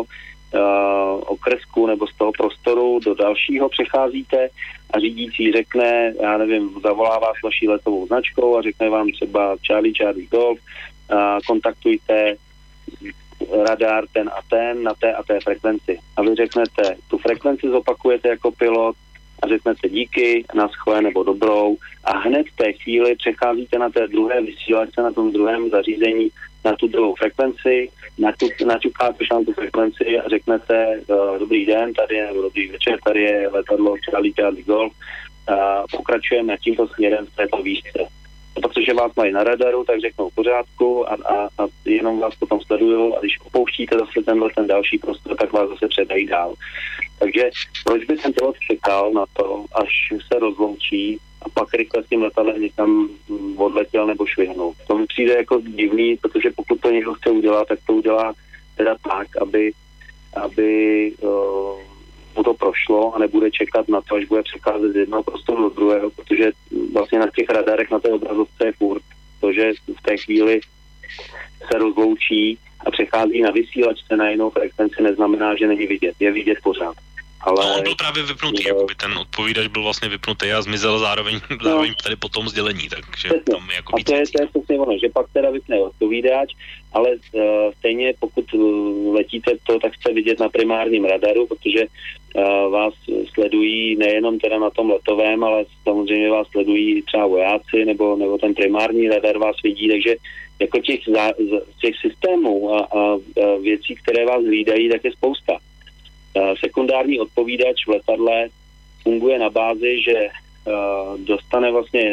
okresku nebo z toho prostoru do dalšího přecházíte a řídící řekne, já nevím, zavolá vás vaší letovou značkou a řekne vám třeba Charlie Golf, kontaktujte radar ten a ten na té a té frekvenci. A vy řeknete, tu frekvenci zopakujete jako pilot a řeknete díky, naschle nebo dobrou a hned v té chvíli přecházíte na té druhé vysílačce, na tom druhém zařízení na tu druhou frekvenci, naťukáte na tu frekvenci a řeknete dobrý den, tady je, nebo dobrý večer, tady je letadlo Charlie Golf a pokračujeme tímto směrem v této výšce. Protože vás mají na radaru, tak řeknou v pořádku a jenom vás potom sledují a když opouštíte zase ten další prostor, tak vás zase předají dál. Takže proč by ten pilot čekal na to, až se rozloučí a pak rychle s tím letadlem někam odletěl nebo švihnul. To mi přijde jako divný, protože pokud to někdo chce udělat, tak to udělá teda tak, aby mu to prošlo a nebude čekat na to, až bude přecházet z jednoho prostoru do druhého, protože vlastně na těch radarech na té obrazovce je furt to, že v té chvíli se rozloučí a přechází na vysílačce na jinou frekvenci, neznamená, že není vidět. Je vidět pořád. Ale... No, on byl právě vypnutý, jakoby ten odpovídač byl vlastně vypnutý a zmizel zároveň tady po tom sdělení, takže tam je jako víc. A to je přesně ono, že pak teda vypne odpovídač, ale stejně pokud letíte to, tak jste vidět na primárním radaru, protože vás sledují nejenom teda na tom letovém, ale samozřejmě vás sledují třeba vojáci, nebo ten primární radar vás vidí, takže jako těch systémů a věcí, které vás hlídají, tak je spousta. Sekundární odpovídač v letadle funguje na bázi, že dostane vlastně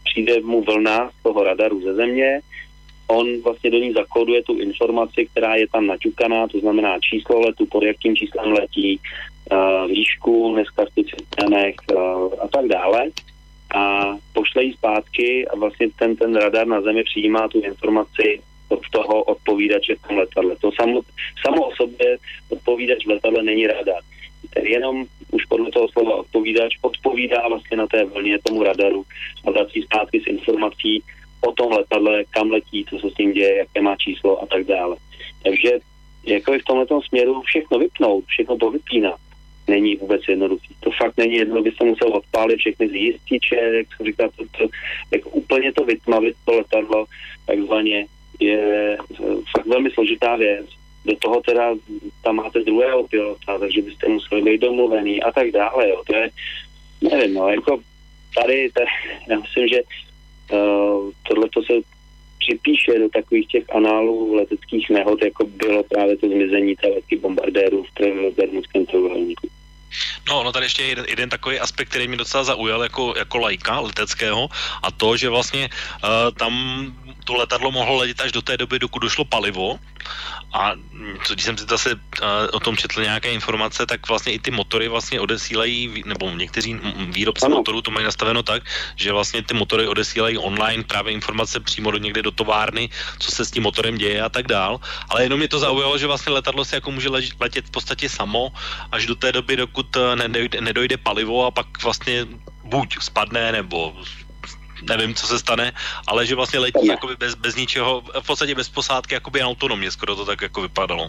přijde mu vlna z toho radaru ze země, on vlastně do ní zakóduje tu informaci, která je tam naťukaná, to znamená číslo letu, pod jakým číslem letí, výšku dneska v těch systémech a tak dále. A pošle jí zpátky a vlastně ten radar na zemi přijímá tu informaci od toho odpovídače v tom letadle. To samo o sobě odpovídač v letadle není radar. Jenom už podle toho slova odpovídač odpovídá vlastně na té vlně tomu radaru a vrací zpátky s informací o tom letadle, kam letí, co se s tím děje, jaké má číslo a tak dále. Takže jako v tomhletom směru všechno vypnout, všechno povypínat, není vůbec jednoduchý. To fakt není jednoduché, byste musel odpálit všechny zjističe, jak jsem říkal, jako úplně to vytmavit to letadlo, takzvaně, je fakt velmi složitá věc. Do toho teda tam máte druhého pilota, takže byste museli být domluvený a tak dále, jo. To je, nevím, no, jako tady já myslím, že tohleto se připíše do takových těch análů leteckých nehod, jako bylo právě to zmizení té letky bombardérů v Bermudském trojúhelníku. No tady ještě jeden takový aspekt, který mě docela zaujal jako laika leteckého, a to, že vlastně tam to letadlo mohlo letět až do té doby, dokud došlo palivo, a když jsem si zase o tom četl nějaké informace, tak vlastně i ty motory vlastně odesílají, nebo někteří výrobci motorů to mají nastaveno tak, že vlastně ty motory odesílají online právě informace přímo někde do továrny, co se s tím motorem děje a tak dál, ale jenom mě to zaujalo, že vlastně letadlo si jako může letět v podstatě samo až do té doby, dokud nedojde palivo, a pak vlastně buď spadne, nebo nevím, co se stane, ale že vlastně letí jakoby bez ničeho, v podstatě bez posádky, jakoby autonomně, skoro to tak jako vypadalo.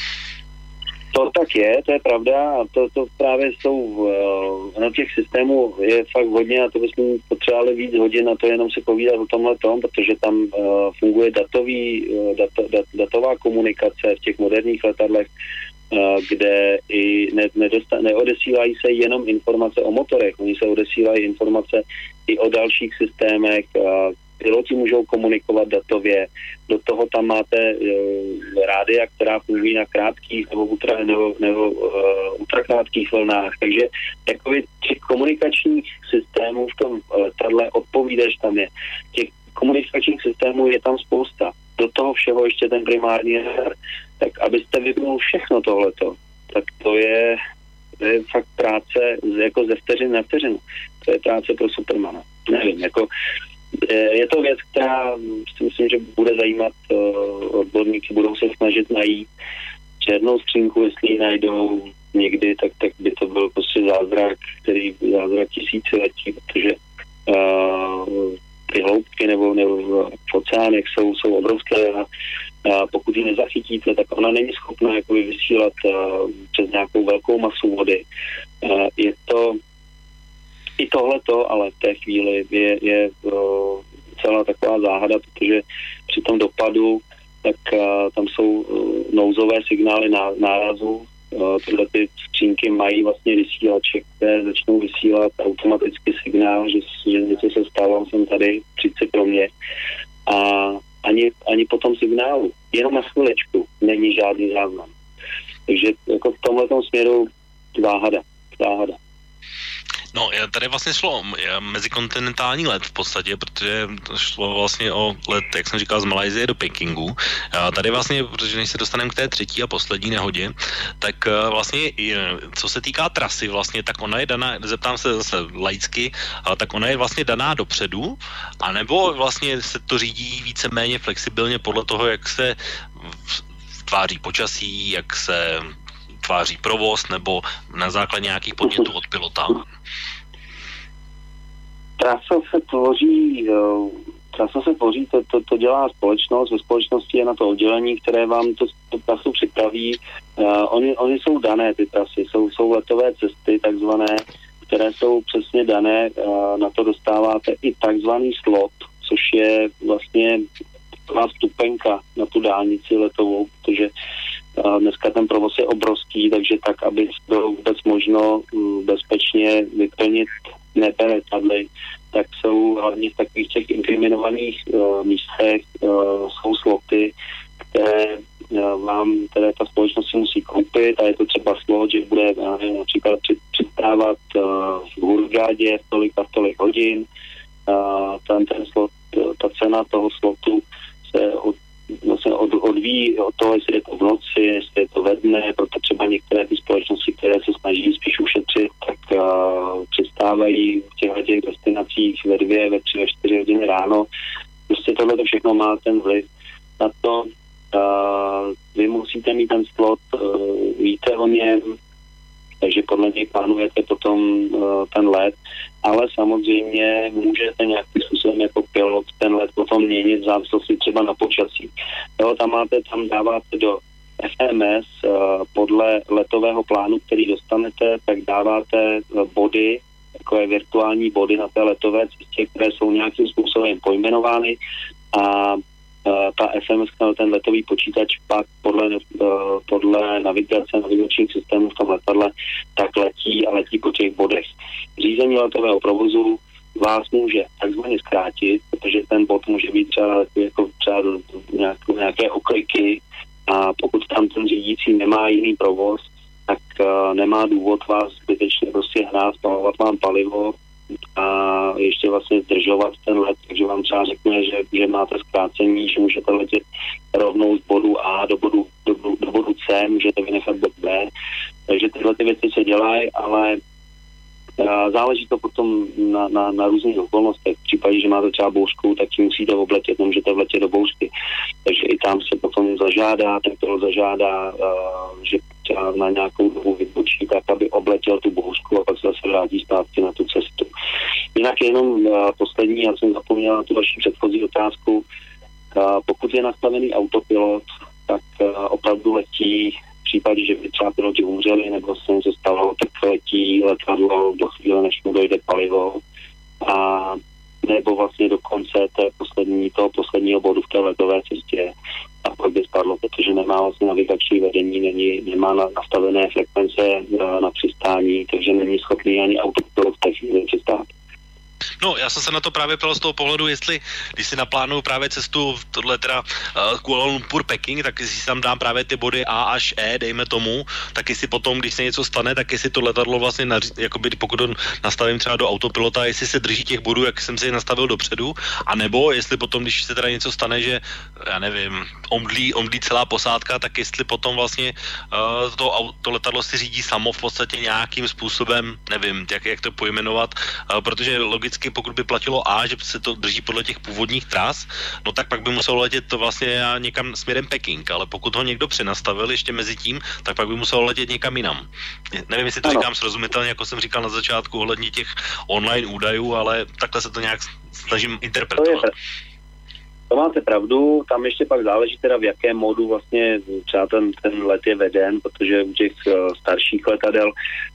To tak je, to je pravda, a to právě jsou, na těch systémů je fakt hodně, a to bychom potřebovali víc hodin, a to jenom si povídat o tomhletom, protože tam funguje datová komunikace v těch moderních letadlech, kde i neodesílají se jenom informace o motorech, oni se odesílají informace i o dalších systémech, piloti můžou komunikovat datově, do toho tam máte rádia, která fungují na krátkých nebo ultrakrátkých vlnách, takže jakoby těch komunikačních systémů v tom letadle odpovídač tam je. Těch komunikačních systémů je tam spousta. Do toho všeho ještě ten primární radar. Tak abyste vypnul všechno tohleto, tak to je fakt práce jako ze vteřin na vteřinu. To je práce pro Supermana. Nevím, jako je to věc, která si myslím, že bude zajímat odborníky, budou se snažit najít černou skřínku, jestli ji najdou někdy, tak by to byl prostě zázrak tisíciletí, protože ty hloubky nebo v oceánech jsou obrovské, a pokud ji nezachytíte, tak ona není schopná jakoby vysílat přes nějakou velkou masu vody. Je to i tohleto, ale v té chvíli je celá taková záhada, protože při tom dopadu tak tam jsou nouzové signály nárazu. Tyhle ty skřínky mají vlastně vysílače, které začnou vysílat automaticky signál, že něco se stalo, jsem tady, přijď se pro mě. A ani po tom signálu, jenom na chviličku, není žádný záznam. Takže jako v tomhletom směru záhada. No, tady vlastně šlo mezikontinentální let v podstatě, protože šlo vlastně o let, jak jsem říkal, z Malajsie do Pekingu. Tady vlastně, protože než se dostaneme k té třetí a poslední nehodě, tak vlastně, co se týká trasy vlastně, tak ona je daná, zeptám se zase laicky, tak ona je vlastně daná dopředu, anebo vlastně se to řídí víceméně flexibilně podle toho, jak se tváří počasí, jak se tváří provoz, nebo na základě nějakých podnětů od pilota? Trasa se tvoří, to dělá společnost, ve společnosti je na to oddělení, které vám tu trasu připraví. Oni jsou dané, ty trasy, jsou letové cesty takzvané, které jsou přesně dané, na to dostáváte i takzvaný slot, což je vlastně taková vstupenka na tu dálnici letovou, protože dneska ten provoz je obrovský, takže tak, aby bylo vůbec možno bezpečně vyplnit nebe letadly, tak jsou hlavně v takových těch inkriminovaných místech jsou sloty, které ta společnost si musí koupit, a je to třeba slot, že bude například přistávat v Hurghadě v tolik hodin, ten slot, ta cena toho slotu se odvíjí od toho, jestli je to v noci, jestli je to ve dne, proto třeba některé ty společnosti, které se snaží spíš ušetřit, tak přistávají v těch destinacích ve 2, ve 3, ve 4 hodiny ráno. Prostě tohle to všechno má ten vliv na to. Vy musíte mít ten slot, víte o něm, takže podle něj plánujete potom ten let, ale samozřejmě můžete nějakým způsobem jako pilot ten let potom měnit v závislosti třeba na počasí. Jo, tam dáváte do FMS podle letového plánu, který dostanete, tak dáváte body, takové virtuální body na té letové cestě, které jsou nějakým způsobem pojmenovány a ta FMS, ten letový počítač pak podle navigačních systémů v tom letadle, tak letí po těch bodech. Řízení letového provozu vás může takzvaně zkrátit, protože ten bod může být třeba nějaké okliky a pokud tam ten řídící nemá jiný provoz, tak nemá důvod vás zbytečně prostě hnát, spalovat vám palivo a ještě vlastně zdržovat ten let, takže vám třeba řekne, že máte zkrácení, že můžete letět rovnou z bodu A do bodu C, můžete vynechat bod B, takže tyhle ty věci se dělají, ale záleží to potom na různých okolnostech. V případě, že máte třeba bouřku, tak si musíte obletět, nemůžete vletět do bouřky. Takže i tam se potom zažádá, ten pilot zažádá, že třeba na nějakou dobu vybočí tak, aby obletěl tu bouřku a pak se zase vrátí zpátky na tu cestu. Jinak jenom poslední, já jsem zapomněl na tu vaši předchozí otázku. Pokud je nastavený autopilot, tak opravdu letí v případě, že by třeba piloti umřeli nebo se něco stalo, tak letí letadlo do chvíle, než mu dojde palivo a nebo vlastně do konce toho posledního bodu v té letové cestě a pak by spadlo, protože nemá vlastně navigační vedení, nemá nastavené frekvence na přistání, takže není schopný ani autopilot v té chvíli přistát. No, já jsem se na to právě ptal z toho pohledu, jestli, když si naplánuju právě cestu, tohle teda Kuala Lumpur Peking, tak si tam dám právě ty body A až E, dejme tomu, tak jestli potom, když se něco stane, tak jestli to letadlo vlastně, jakoby pokud to nastavím třeba do autopilota, jestli se drží těch bodů, jak jsem si je nastavil dopředu, anebo jestli potom, když se teda něco stane, že, já nevím, omdlí celá posádka, tak jestli potom vlastně to letadlo si řídí samo v podstatě nějakým způsobem, nevím, jak to pojmenovat, protože logicky, pokud by platilo A, že se to drží podle těch původních tras, no tak pak by muselo letět to vlastně někam směrem Peking, ale pokud ho někdo přenastavil ještě mezi tím, tak pak by muselo letět někam jinam. Nevím, jestli to říkám srozumitelně, jako jsem říkal na začátku ohledně těch online údajů, ale takhle se to nějak snažím interpretovat. To máte pravdu, tam ještě pak záleží teda v jakém módu vlastně třeba ten let je veden, protože u těch starších letadel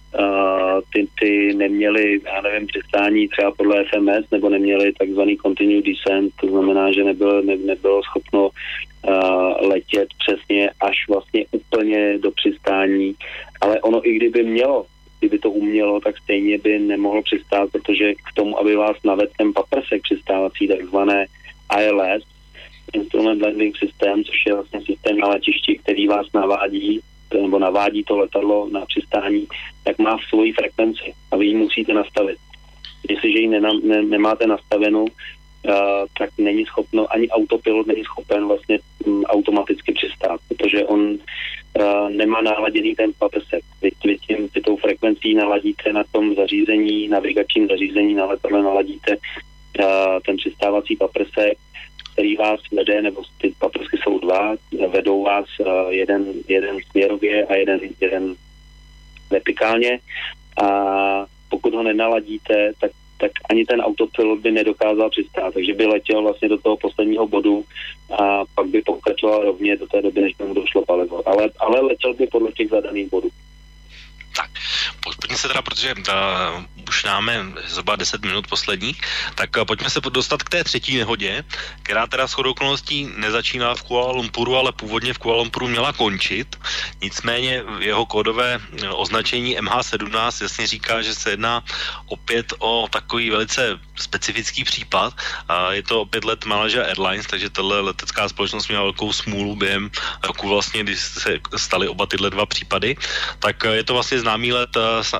ty neměli, já nevím, přistání třeba podle FMS, nebo neměli takzvaný continued descent, to znamená, že nebylo schopno letět přesně až vlastně úplně do přistání, ale ono i kdyby to umělo, tak stejně by nemohlo přistát, protože k tomu, aby vás navedl ten paprsek přistávací, takzvané ILS, Instrument Landing System, což je vlastně systém na letišti, který vás navádí to letadlo na přistání, tak má v svoji frekvenci a vy ji musíte nastavit. Jestliže ji nemáte nastavenou, tak není schopno, ani autopilot není schopen vlastně automaticky přistát, protože on nemá naladěný ten paprsek. Vy tou frekvencí naladíte na tom zařízení, navigačním zařízení na letadle naladíte ten přistávací paprsek, který vás vede, nebo ty paprsky jsou dva, vedou vás jeden směrově a jeden vertikálně a pokud ho nenaladíte, tak ani ten autopilot by nedokázal přistát, takže by letěl vlastně do toho posledního bodu a pak by pokračoval rovně do té doby, než tomu došlo palivo. Ale letěl by podle těch zadaných bodů. Tak, pojďme se teda, protože už máme zhruba 10 minut posledních, tak pojďme se dostat k té třetí nehodě, která teda shodou okolností nezačínala v Kuala Lumpuru, ale původně v Kuala Lumpuru měla končit. Nicméně jeho kódové označení MH17 jasně říká, že se jedná opět o takový velice specifický případ. Je to opět let Malaysia Airlines, takže tahle letecká společnost měla velkou smůlu během roku vlastně, když se staly oba tyhle dva případy. Tak je to vlastně známý let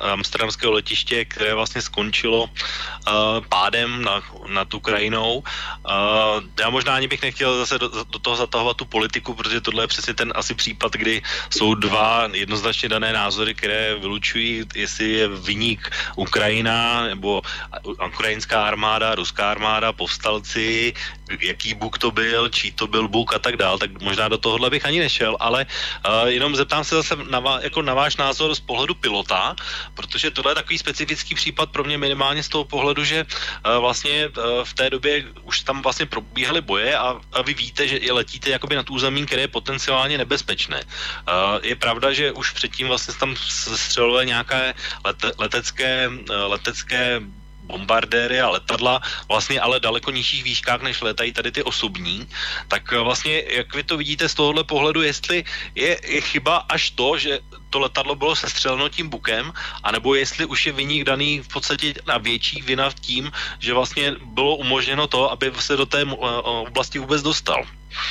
amsterdamského letiště, které vlastně skončilo pádem nad Ukrajinou. Já možná ani bych nechtěl zase do toho zatahovat tu politiku, protože tohle je přesně ten asi případ, kdy jsou dva jednoznačně dané názory, které vylučují, jestli je viník Ukrajina nebo ukrajinská armáda, ruská armáda, povstalci, jaký Bůh to byl, čí to byl Bůh a tak dál, tak možná do tohohle bych ani nešel, ale jenom zeptám se zase na váš názor z pohledu pilota, protože tohle je takový specifický případ pro mě minimálně z toho pohledu, že vlastně v té době už tam vlastně probíhaly boje a vy víte, že letíte jakoby nad územím, které je potenciálně nebezpečné. Je pravda, že už předtím vlastně tam střelily nějaké letecké bombardéry a letadla vlastně ale daleko nižších výškách, než letají tady ty osobní. Tak vlastně, jak vy to vidíte z tohohle pohledu, jestli je chyba až to, že to letadlo bylo sestřeleno tím bukem, anebo jestli už je viník daný v podstatě na větší vina tím, že vlastně bylo umožněno to, aby se do té oblasti vůbec dostal.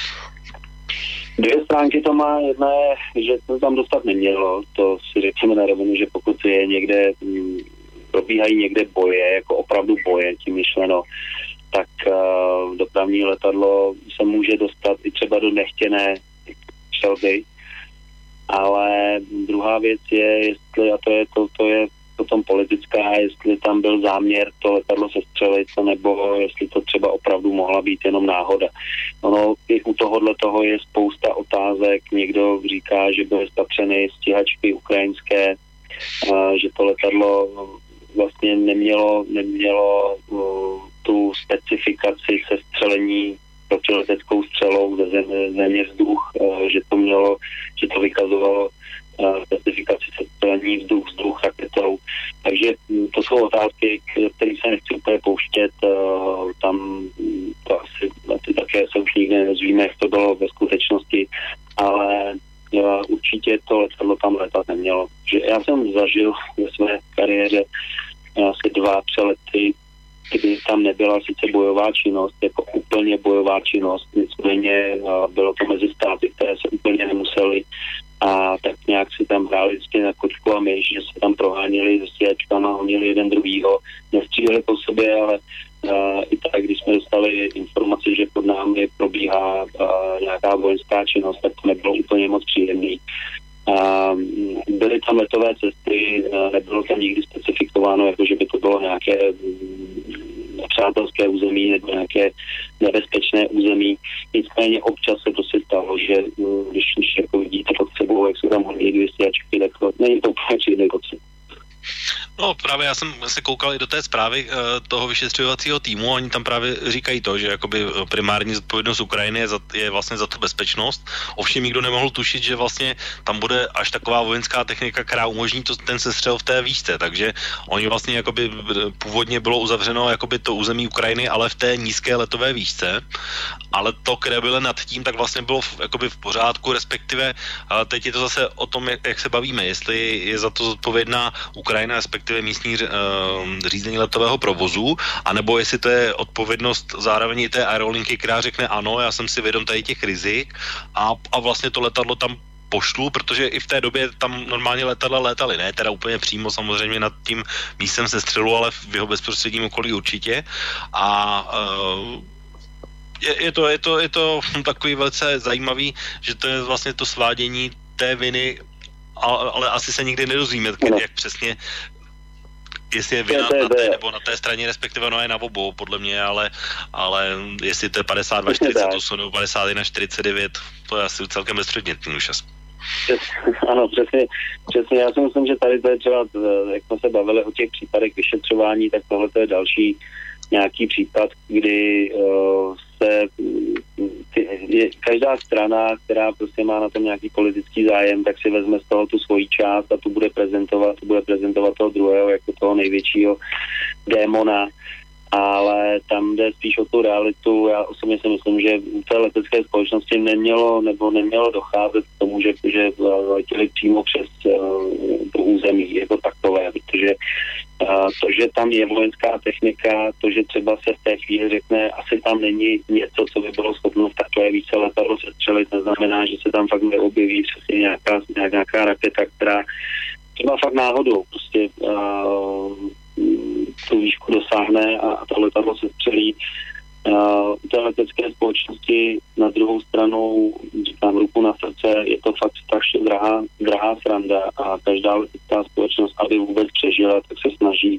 Dvě stránky to má. Jedna je, že to tam dostat nemělo. To si řekněme na rovinu, že pokud je někde probíhají někde boje, jako opravdu boje, tím myšleno, tak dopravní letadlo se může dostat i třeba do nechtěné střelby. Ale druhá věc je, jestli, a to je potom politická, jestli tam byl záměr to letadlo sestřelit, nebo jestli to třeba opravdu mohla být jenom náhoda. Ono i u tohohle toho je spousta otázek. Někdo říká, že byly spatřeny stíhačky ukrajinské, že to letadlo vlastně nemělo tu specifikaci sestřelení protileteckou střelou ze země vzduch, že to vykazovalo specifikaci sestřelení vzduch raketou. Takže to jsou otázky, které se nechci úplně pouštět. Tam to asi také se už nikdy nedozvíme, jak to bylo ve skutečnosti, ale určitě to letadlo tam letat nemělo. Že já jsem zažil ve své kariéře asi 2 přelety, kdy tam nebyla sice bojová činnost, jako úplně bojová činnost, nicméně bylo to mezi státy, které se úplně nemuseli a tak nějak si tam hráli vždycky na kočku a myš, že se tam proháněli se stíhačkama, honili jeden druhýho, nestříleli po sobě, ale i tak, když jsme dostali informaci, že pod námi probíhá nějaká vojenská činnost, tak to nebylo úplně moc příjemný. Byly tam letové cesty, nebylo tam nikdy specifikováno, jako že by to bylo nějaké nepřátelské území nebo nějaké nebezpečné území. Nicméně občas se to si stalo, že když jako vidíte pod sebou, jak jsou tam hodně 200 ačky, tak to není to úplně příjemný pocit. No právě já jsem se koukal i do té zprávy toho vyšetřovacího týmu, oni tam právě říkají to, že jakoby primární zodpovědnost Ukrajiny je vlastně za tu bezpečnost. Ovšem nikdo nemohl tušit, že vlastně tam bude až taková vojenská technika, která umožní ten sestřel v té výšce, takže oni vlastně jakoby původně bylo uzavřeno jakoby to území Ukrajiny, ale v té nízké letové výšce, ale to, které bylo nad tím, tak vlastně bylo jakoby v pořádku, respektive teď je to zase o tom, jak se bavíme, jestli je za to zodpovědná Ukrajina, respektive místní řízení letového provozu, anebo jestli to je odpovědnost zároveň i té aerolinky, která řekne ano, já jsem si vědom tady těch rizik a vlastně to letadlo tam pošlu, protože i v té době tam normálně letadla létaly, ne teda úplně přímo samozřejmě nad tím místem sestřelu, ale v jeho bezprostředním okolí určitě a je to takový velice zajímavý, že to je vlastně to svádění té viny, ale asi se nikdy nedozvíme, jak přesně, jestli je vina na té nebo na té straně, respektive no je na obou, podle mě, ale jestli to je 52-48 nebo 51-49, to je asi celkem bezpředmětný už asi. Ano, přesně. Já si myslím, že tady to je třeba, jak jsme se bavili o těch případech vyšetřování, tak tohle to je další nějaký případ, kdy každá strana, která prostě má na tom nějaký politický zájem, tak si vezme z toho tu svoji část a tu bude prezentovat toho druhého jako toho největšího démona, ale tam jde spíš o tu realitu. Já osobně si myslím, že u té letecké společnosti nemělo docházet k tomu, že letěli přímo přes to území jako takové, protože to, že tam je vojenská technika, to, že třeba se v té chvíli řekne, asi tam není něco, co by bylo schopno v takové více letadlo sestřelit, neznamená, že se tam fakt neobjeví přesně nějaká raketa, která třeba fakt náhodou prostě tu výšku dosáhne a to letadlo se střelí. U té letecké společnosti na druhou stranu, říkám ruku na srdce, je to fakt strašně drahá sranda a každá letecká společnost, aby vůbec přežila, tak se snaží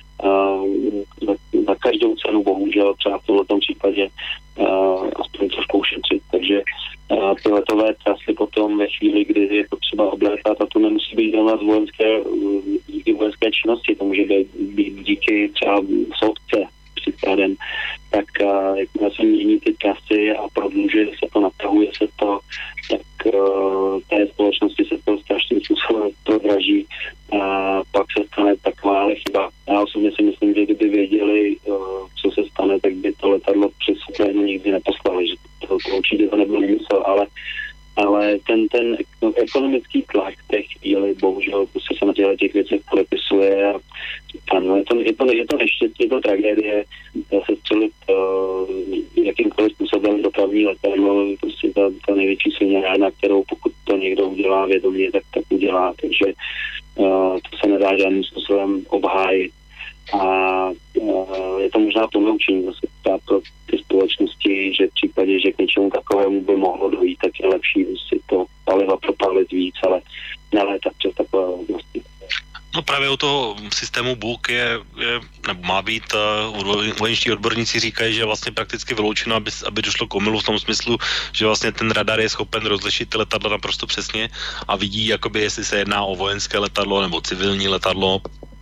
za každou cenu, bohužel, třeba v tomto případě aspoň trošku ušetřit. Takže ty letové trasy potom ve chvíli, kdy je to třeba oblétat, a to nemusí být jen díky vojenské činnosti, to může být díky třeba soudce příkladem, tak jakmile se mění ty trasy a prodlužuje se to, natahuje se to, tak té společnosti se to strašným způsobem prodraží a pak se stane taková chyba. Já osobně si myslím, že kdyby věděli, co se stane, tak by to letadlo přes Ukrajinu nikdy neposlali, že to určitě to nebyl úmysl, ale ten ekonomický tlak v té chvíli, bohužel, prostě se na těch věcech podepisuje a ano, je to neštěstí, je to tragédie, se střelit jakýmkoliv způsobem dopravní letadlo, prostě ta největší sviňárna, kterou pokud to někdo udělá vědomě, tak udělá, takže to se nedá žádným způsobem obhájit. A je to možná ponaučení zase pro ty společnosti, že v případě, že k něčemu takovému by mohlo dojít, tak je lepší si to paliva propálit víc, ale nelétat přes takové možnosti. No právě u toho systému BUK nebo má být, vojenští odborníci říkají, že je vlastně prakticky vyloučeno, aby došlo k omylu v tom smyslu, že vlastně ten radar je schopen rozlišit ty letadla naprosto přesně a vidí, jakoby, jestli se jedná o vojenské letadlo nebo civilní letadlo.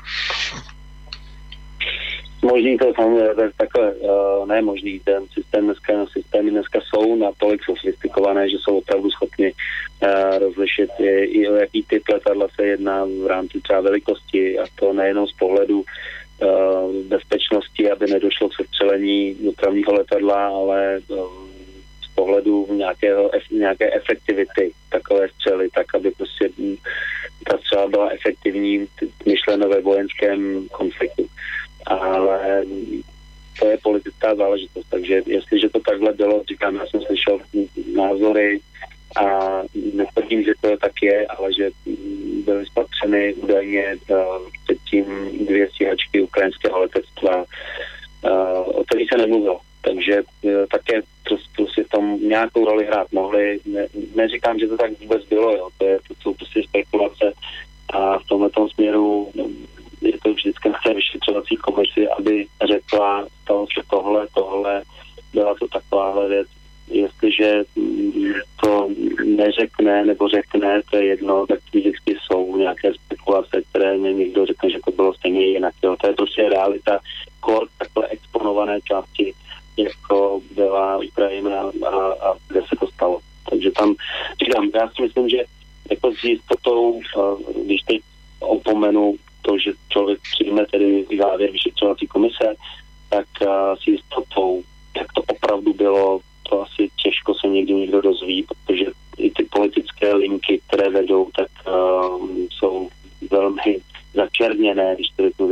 Možný to samozřejmě takhle, ne možný, ten systémy dneska jsou natolik sofistikované, že jsou opravdu schopni rozlišit i o jaký typ letadla se jedná v rámci třeba velikosti, a to nejenom z pohledu bezpečnosti, aby nedošlo k sestřelení dopravního letadla, ale z pohledu nějaké efektivity takové střely, tak aby prostě ta střela byla efektivní, myšleno ve vojenském konfliktu. Ale to je politická záležitost, takže jestliže to takhle bylo, říkám, já jsem slyšel názory a netvrdím, že to tak je, ale že byly spatřeny údajně předtím 2 stíhačky ukrajinského letectva, o kterých se nemluvilo. Takže také prostě v tom nějakou roli hrát mohli. Neříkám, že to tak vůbec bylo, jo. To jsou prostě spekulace a v tomto směru je to vždycky na té vyšetřovací komisi, aby řekla, stalo se tohle, byla to takováhle věc. Jestliže to neřekne nebo řekne, to je jedno, tak vždycky jsou nějaké spekulace, které mě někdo řekne, že to bylo stejně jinak. Jo. To je prostě realita takhle exponované části, jako byla Ukrajina a kde se to stalo. Takže tam, říkám, já si myslím, že jako s jistotou, když teď opomenu to, že člověk přijme tedy závěr vyšetřovací komise, tak s jistotou, jak to opravdu bylo, to asi těžko se někdo dozví, protože i ty politické linky, které vedou, tak jsou velmi začerněné, když to řeknu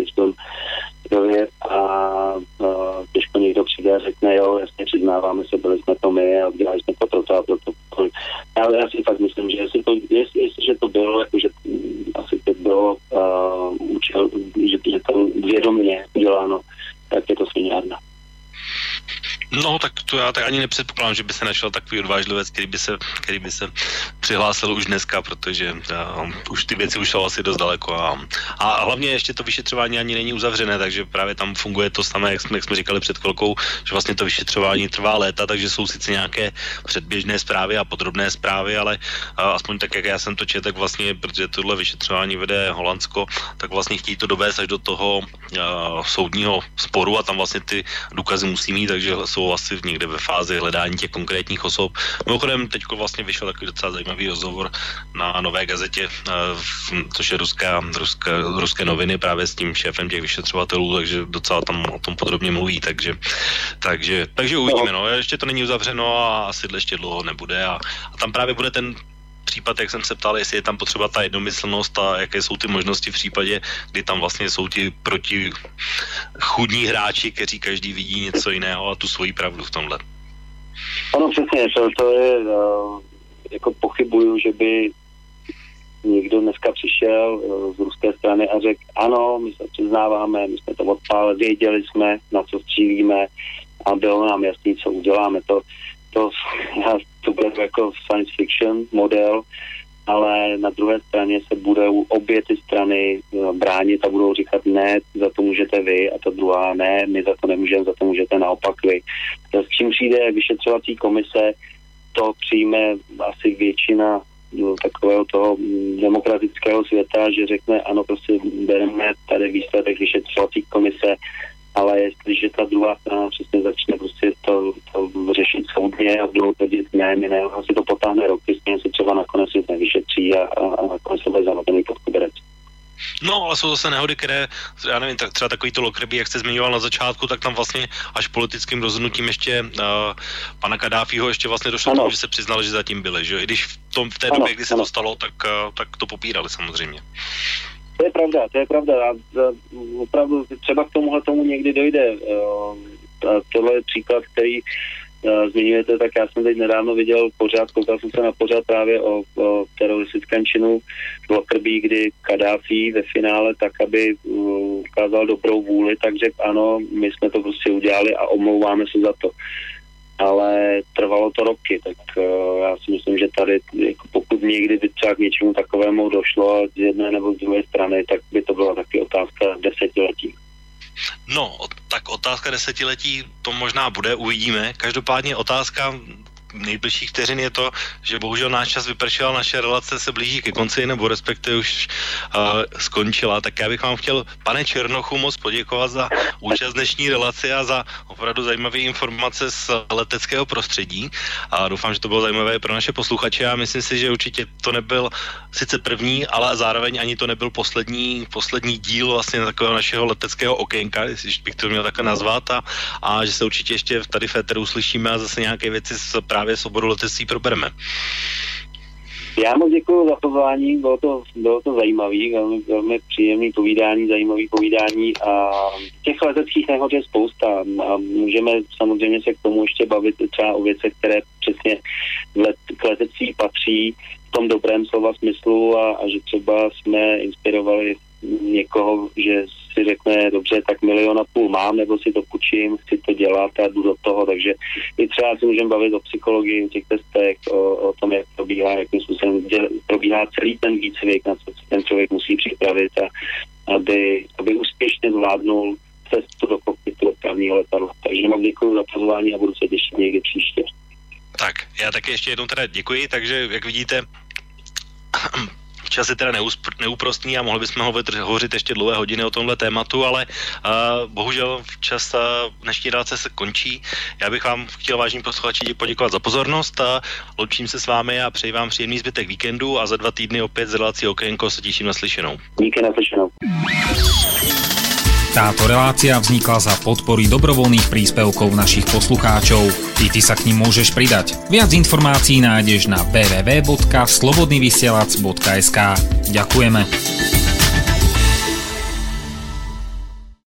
a těžko někdo přijde a řekne, jo, jasně přiznáváme se, byli jsme to my a udělali jsme to proto a proto. Ale já si fakt myslím, že jestliže to bylo, jakože asi to bylo účel, že to vědomě uděláno, tak je to sviňárna. No, tak to já tak ani nepředpokládám, že by se našel takový odvážlivec, který by se přihlásil už dneska, protože už ty věci už jsou asi dost daleko. A hlavně ještě to vyšetřování ani není uzavřené, takže právě tam funguje to samé, jak jsme říkali před chvilkou, že vlastně to vyšetřování trvá léta, takže jsou sice nějaké předběžné zprávy a podrobné zprávy, ale aspoň tak, jak já jsem to četl, tak vlastně, protože tohle vyšetřování vede Holandsko, tak vlastně chtějí to dovést až do toho soudního sporu a tam vlastně ty důkazy musí mít, takže jsou asi někde ve fázi hledání těch konkrétních osob. Mimochodem, teďko vlastně vyšel takový docela zajímavý rozhovor na Nové gazetě, což je ruské noviny právě s tím šéfem těch vyšetřovatelů, takže docela tam o tom podrobně mluví, takže uvidíme, no, ještě to není uzavřeno a asi ještě dlouho nebude a tam právě bude ten případ, jak jsem se ptal, jestli je tam potřeba ta jednomyslnost a jaké jsou ty možnosti v případě, kdy tam vlastně jsou ti protichůdní hráči, kteří každý vidí něco jiného a tu svoji pravdu v tomhle. Ano, přesně, to je, jako pochybuju, že by někdo dneska přišel přišel z ruské strany a řekl, ano, my se přiznáváme, my jsme to odpálili, věděli jsme, na co střílíme a bylo nám jasný, co uděláme. To bude jako science fiction model, ale na druhé straně se budou obě ty strany bránit a budou říkat ne, za to můžete vy, a ta druhá ne, my za to nemůžeme, za to můžete naopak vy. S čím přijde vyšetřovací komise, to přijme asi většina takového toho demokratického světa, že řekne ano, prostě bereme tady výsledek vyšetřovací komise, ale jestliže ta druhá strana přesně začne prostě to řešit soudně a budou tvrdit ne, my ne, asi to potáhne roky, se třeba nakonec nic nevyšetří a nakonec se bude zamotaný pod koberec. No, ale jsou zase nehody, které, já nevím, tak třeba takový to Lockerbie, jak jste zmiňoval na začátku, tak tam vlastně až politickým rozhodnutím ještě pana Kadáfího ještě vlastně došlo k tomu, že se přiznali, že zatím byli, že? I když v té době, kdy se to stalo, tak to popírali samozřejmě. To je pravda. Opravdu třeba k tomu někdy dojde. Tohle je příklad, který zmiňujete, tak já jsem teď nedávno viděl koukal jsem se na pořád právě o teroristickém činu v Lockerbie, kdy Kadáfí ve finále tak, aby ukázal dobrou vůli, tak řekl ano, my jsme to prostě udělali a omlouváme se za to. Ale trvalo to roky, tak já si myslím, že tady, jako pokud někdy by třeba k něčemu takovému došlo z jedné nebo z druhé strany, tak by to byla taky otázka desetiletí. No, tak otázka desetiletí to možná bude, uvidíme. Každopádně otázka nejbližších vteřin je to, že bohužel náš čas vypršel, naše relace se blíží ke konci, nebo respektive už skončila. Tak já bych vám chtěl, pane Černochu, moc poděkovat za účast dnešní relace a za opravdu zajímavé informace z leteckého prostředí. A doufám, že to bylo zajímavé pro naše posluchače a myslím si, že určitě to nebyl sice první, ale zároveň ani to nebyl poslední díl vlastně takového našeho leteckého okénka, jestli bych to měl takhle nazvat, a že se určitě ještě tady v éteru uslyšíme a zase nějaké věci právě z oboru letectví probereme. Já moc děkuji za pozvání, bylo to zajímavý, velmi příjemný zajímavý povídání a těch leteckých nehod je spousta a můžeme samozřejmě se k tomu ještě bavit třeba o věcech, které přesně k letectví patří v tom dobrém slova smyslu a že třeba jsme inspirovali někoho, že si řekne, dobře, tak 1,5 milionu mám, nebo si to půjčím, chci to dělat a jdu do toho, takže i třeba si můžeme bavit o psychologii, o těch testech, o tom, jak probíhá, jakým způsobem probíhá celý ten výcvik, na co ten člověk musí připravit a aby úspěšně zvládnul cestu do kokpitu dopravního letadla. Takže mám děkuji za pozvání a budu se těšit někdy příště. Tak, já taky ještě jednou teda děkuji, takže jak vidíte, čas je teda neúprostný a mohli bychom hovořit ještě dlouhé hodiny o tomhle tématu, ale bohužel čas dnešní relace se končí. Já bych vám chtěl, vážení posluchači, poděkovat za pozornost a loučím se s vámi a přeji vám příjemný zbytek víkendu a za 2 týdny opět z relací Okénko se těším na slyšenou. Díky, na slyšenou. Táto relácia vznikla za podpory dobrovoľných príspevkov našich poslucháčov. Ty sa k nim môžeš pridať. Viac informácií nájdeš na www.slobodnyvysielac.sk. Ďakujeme.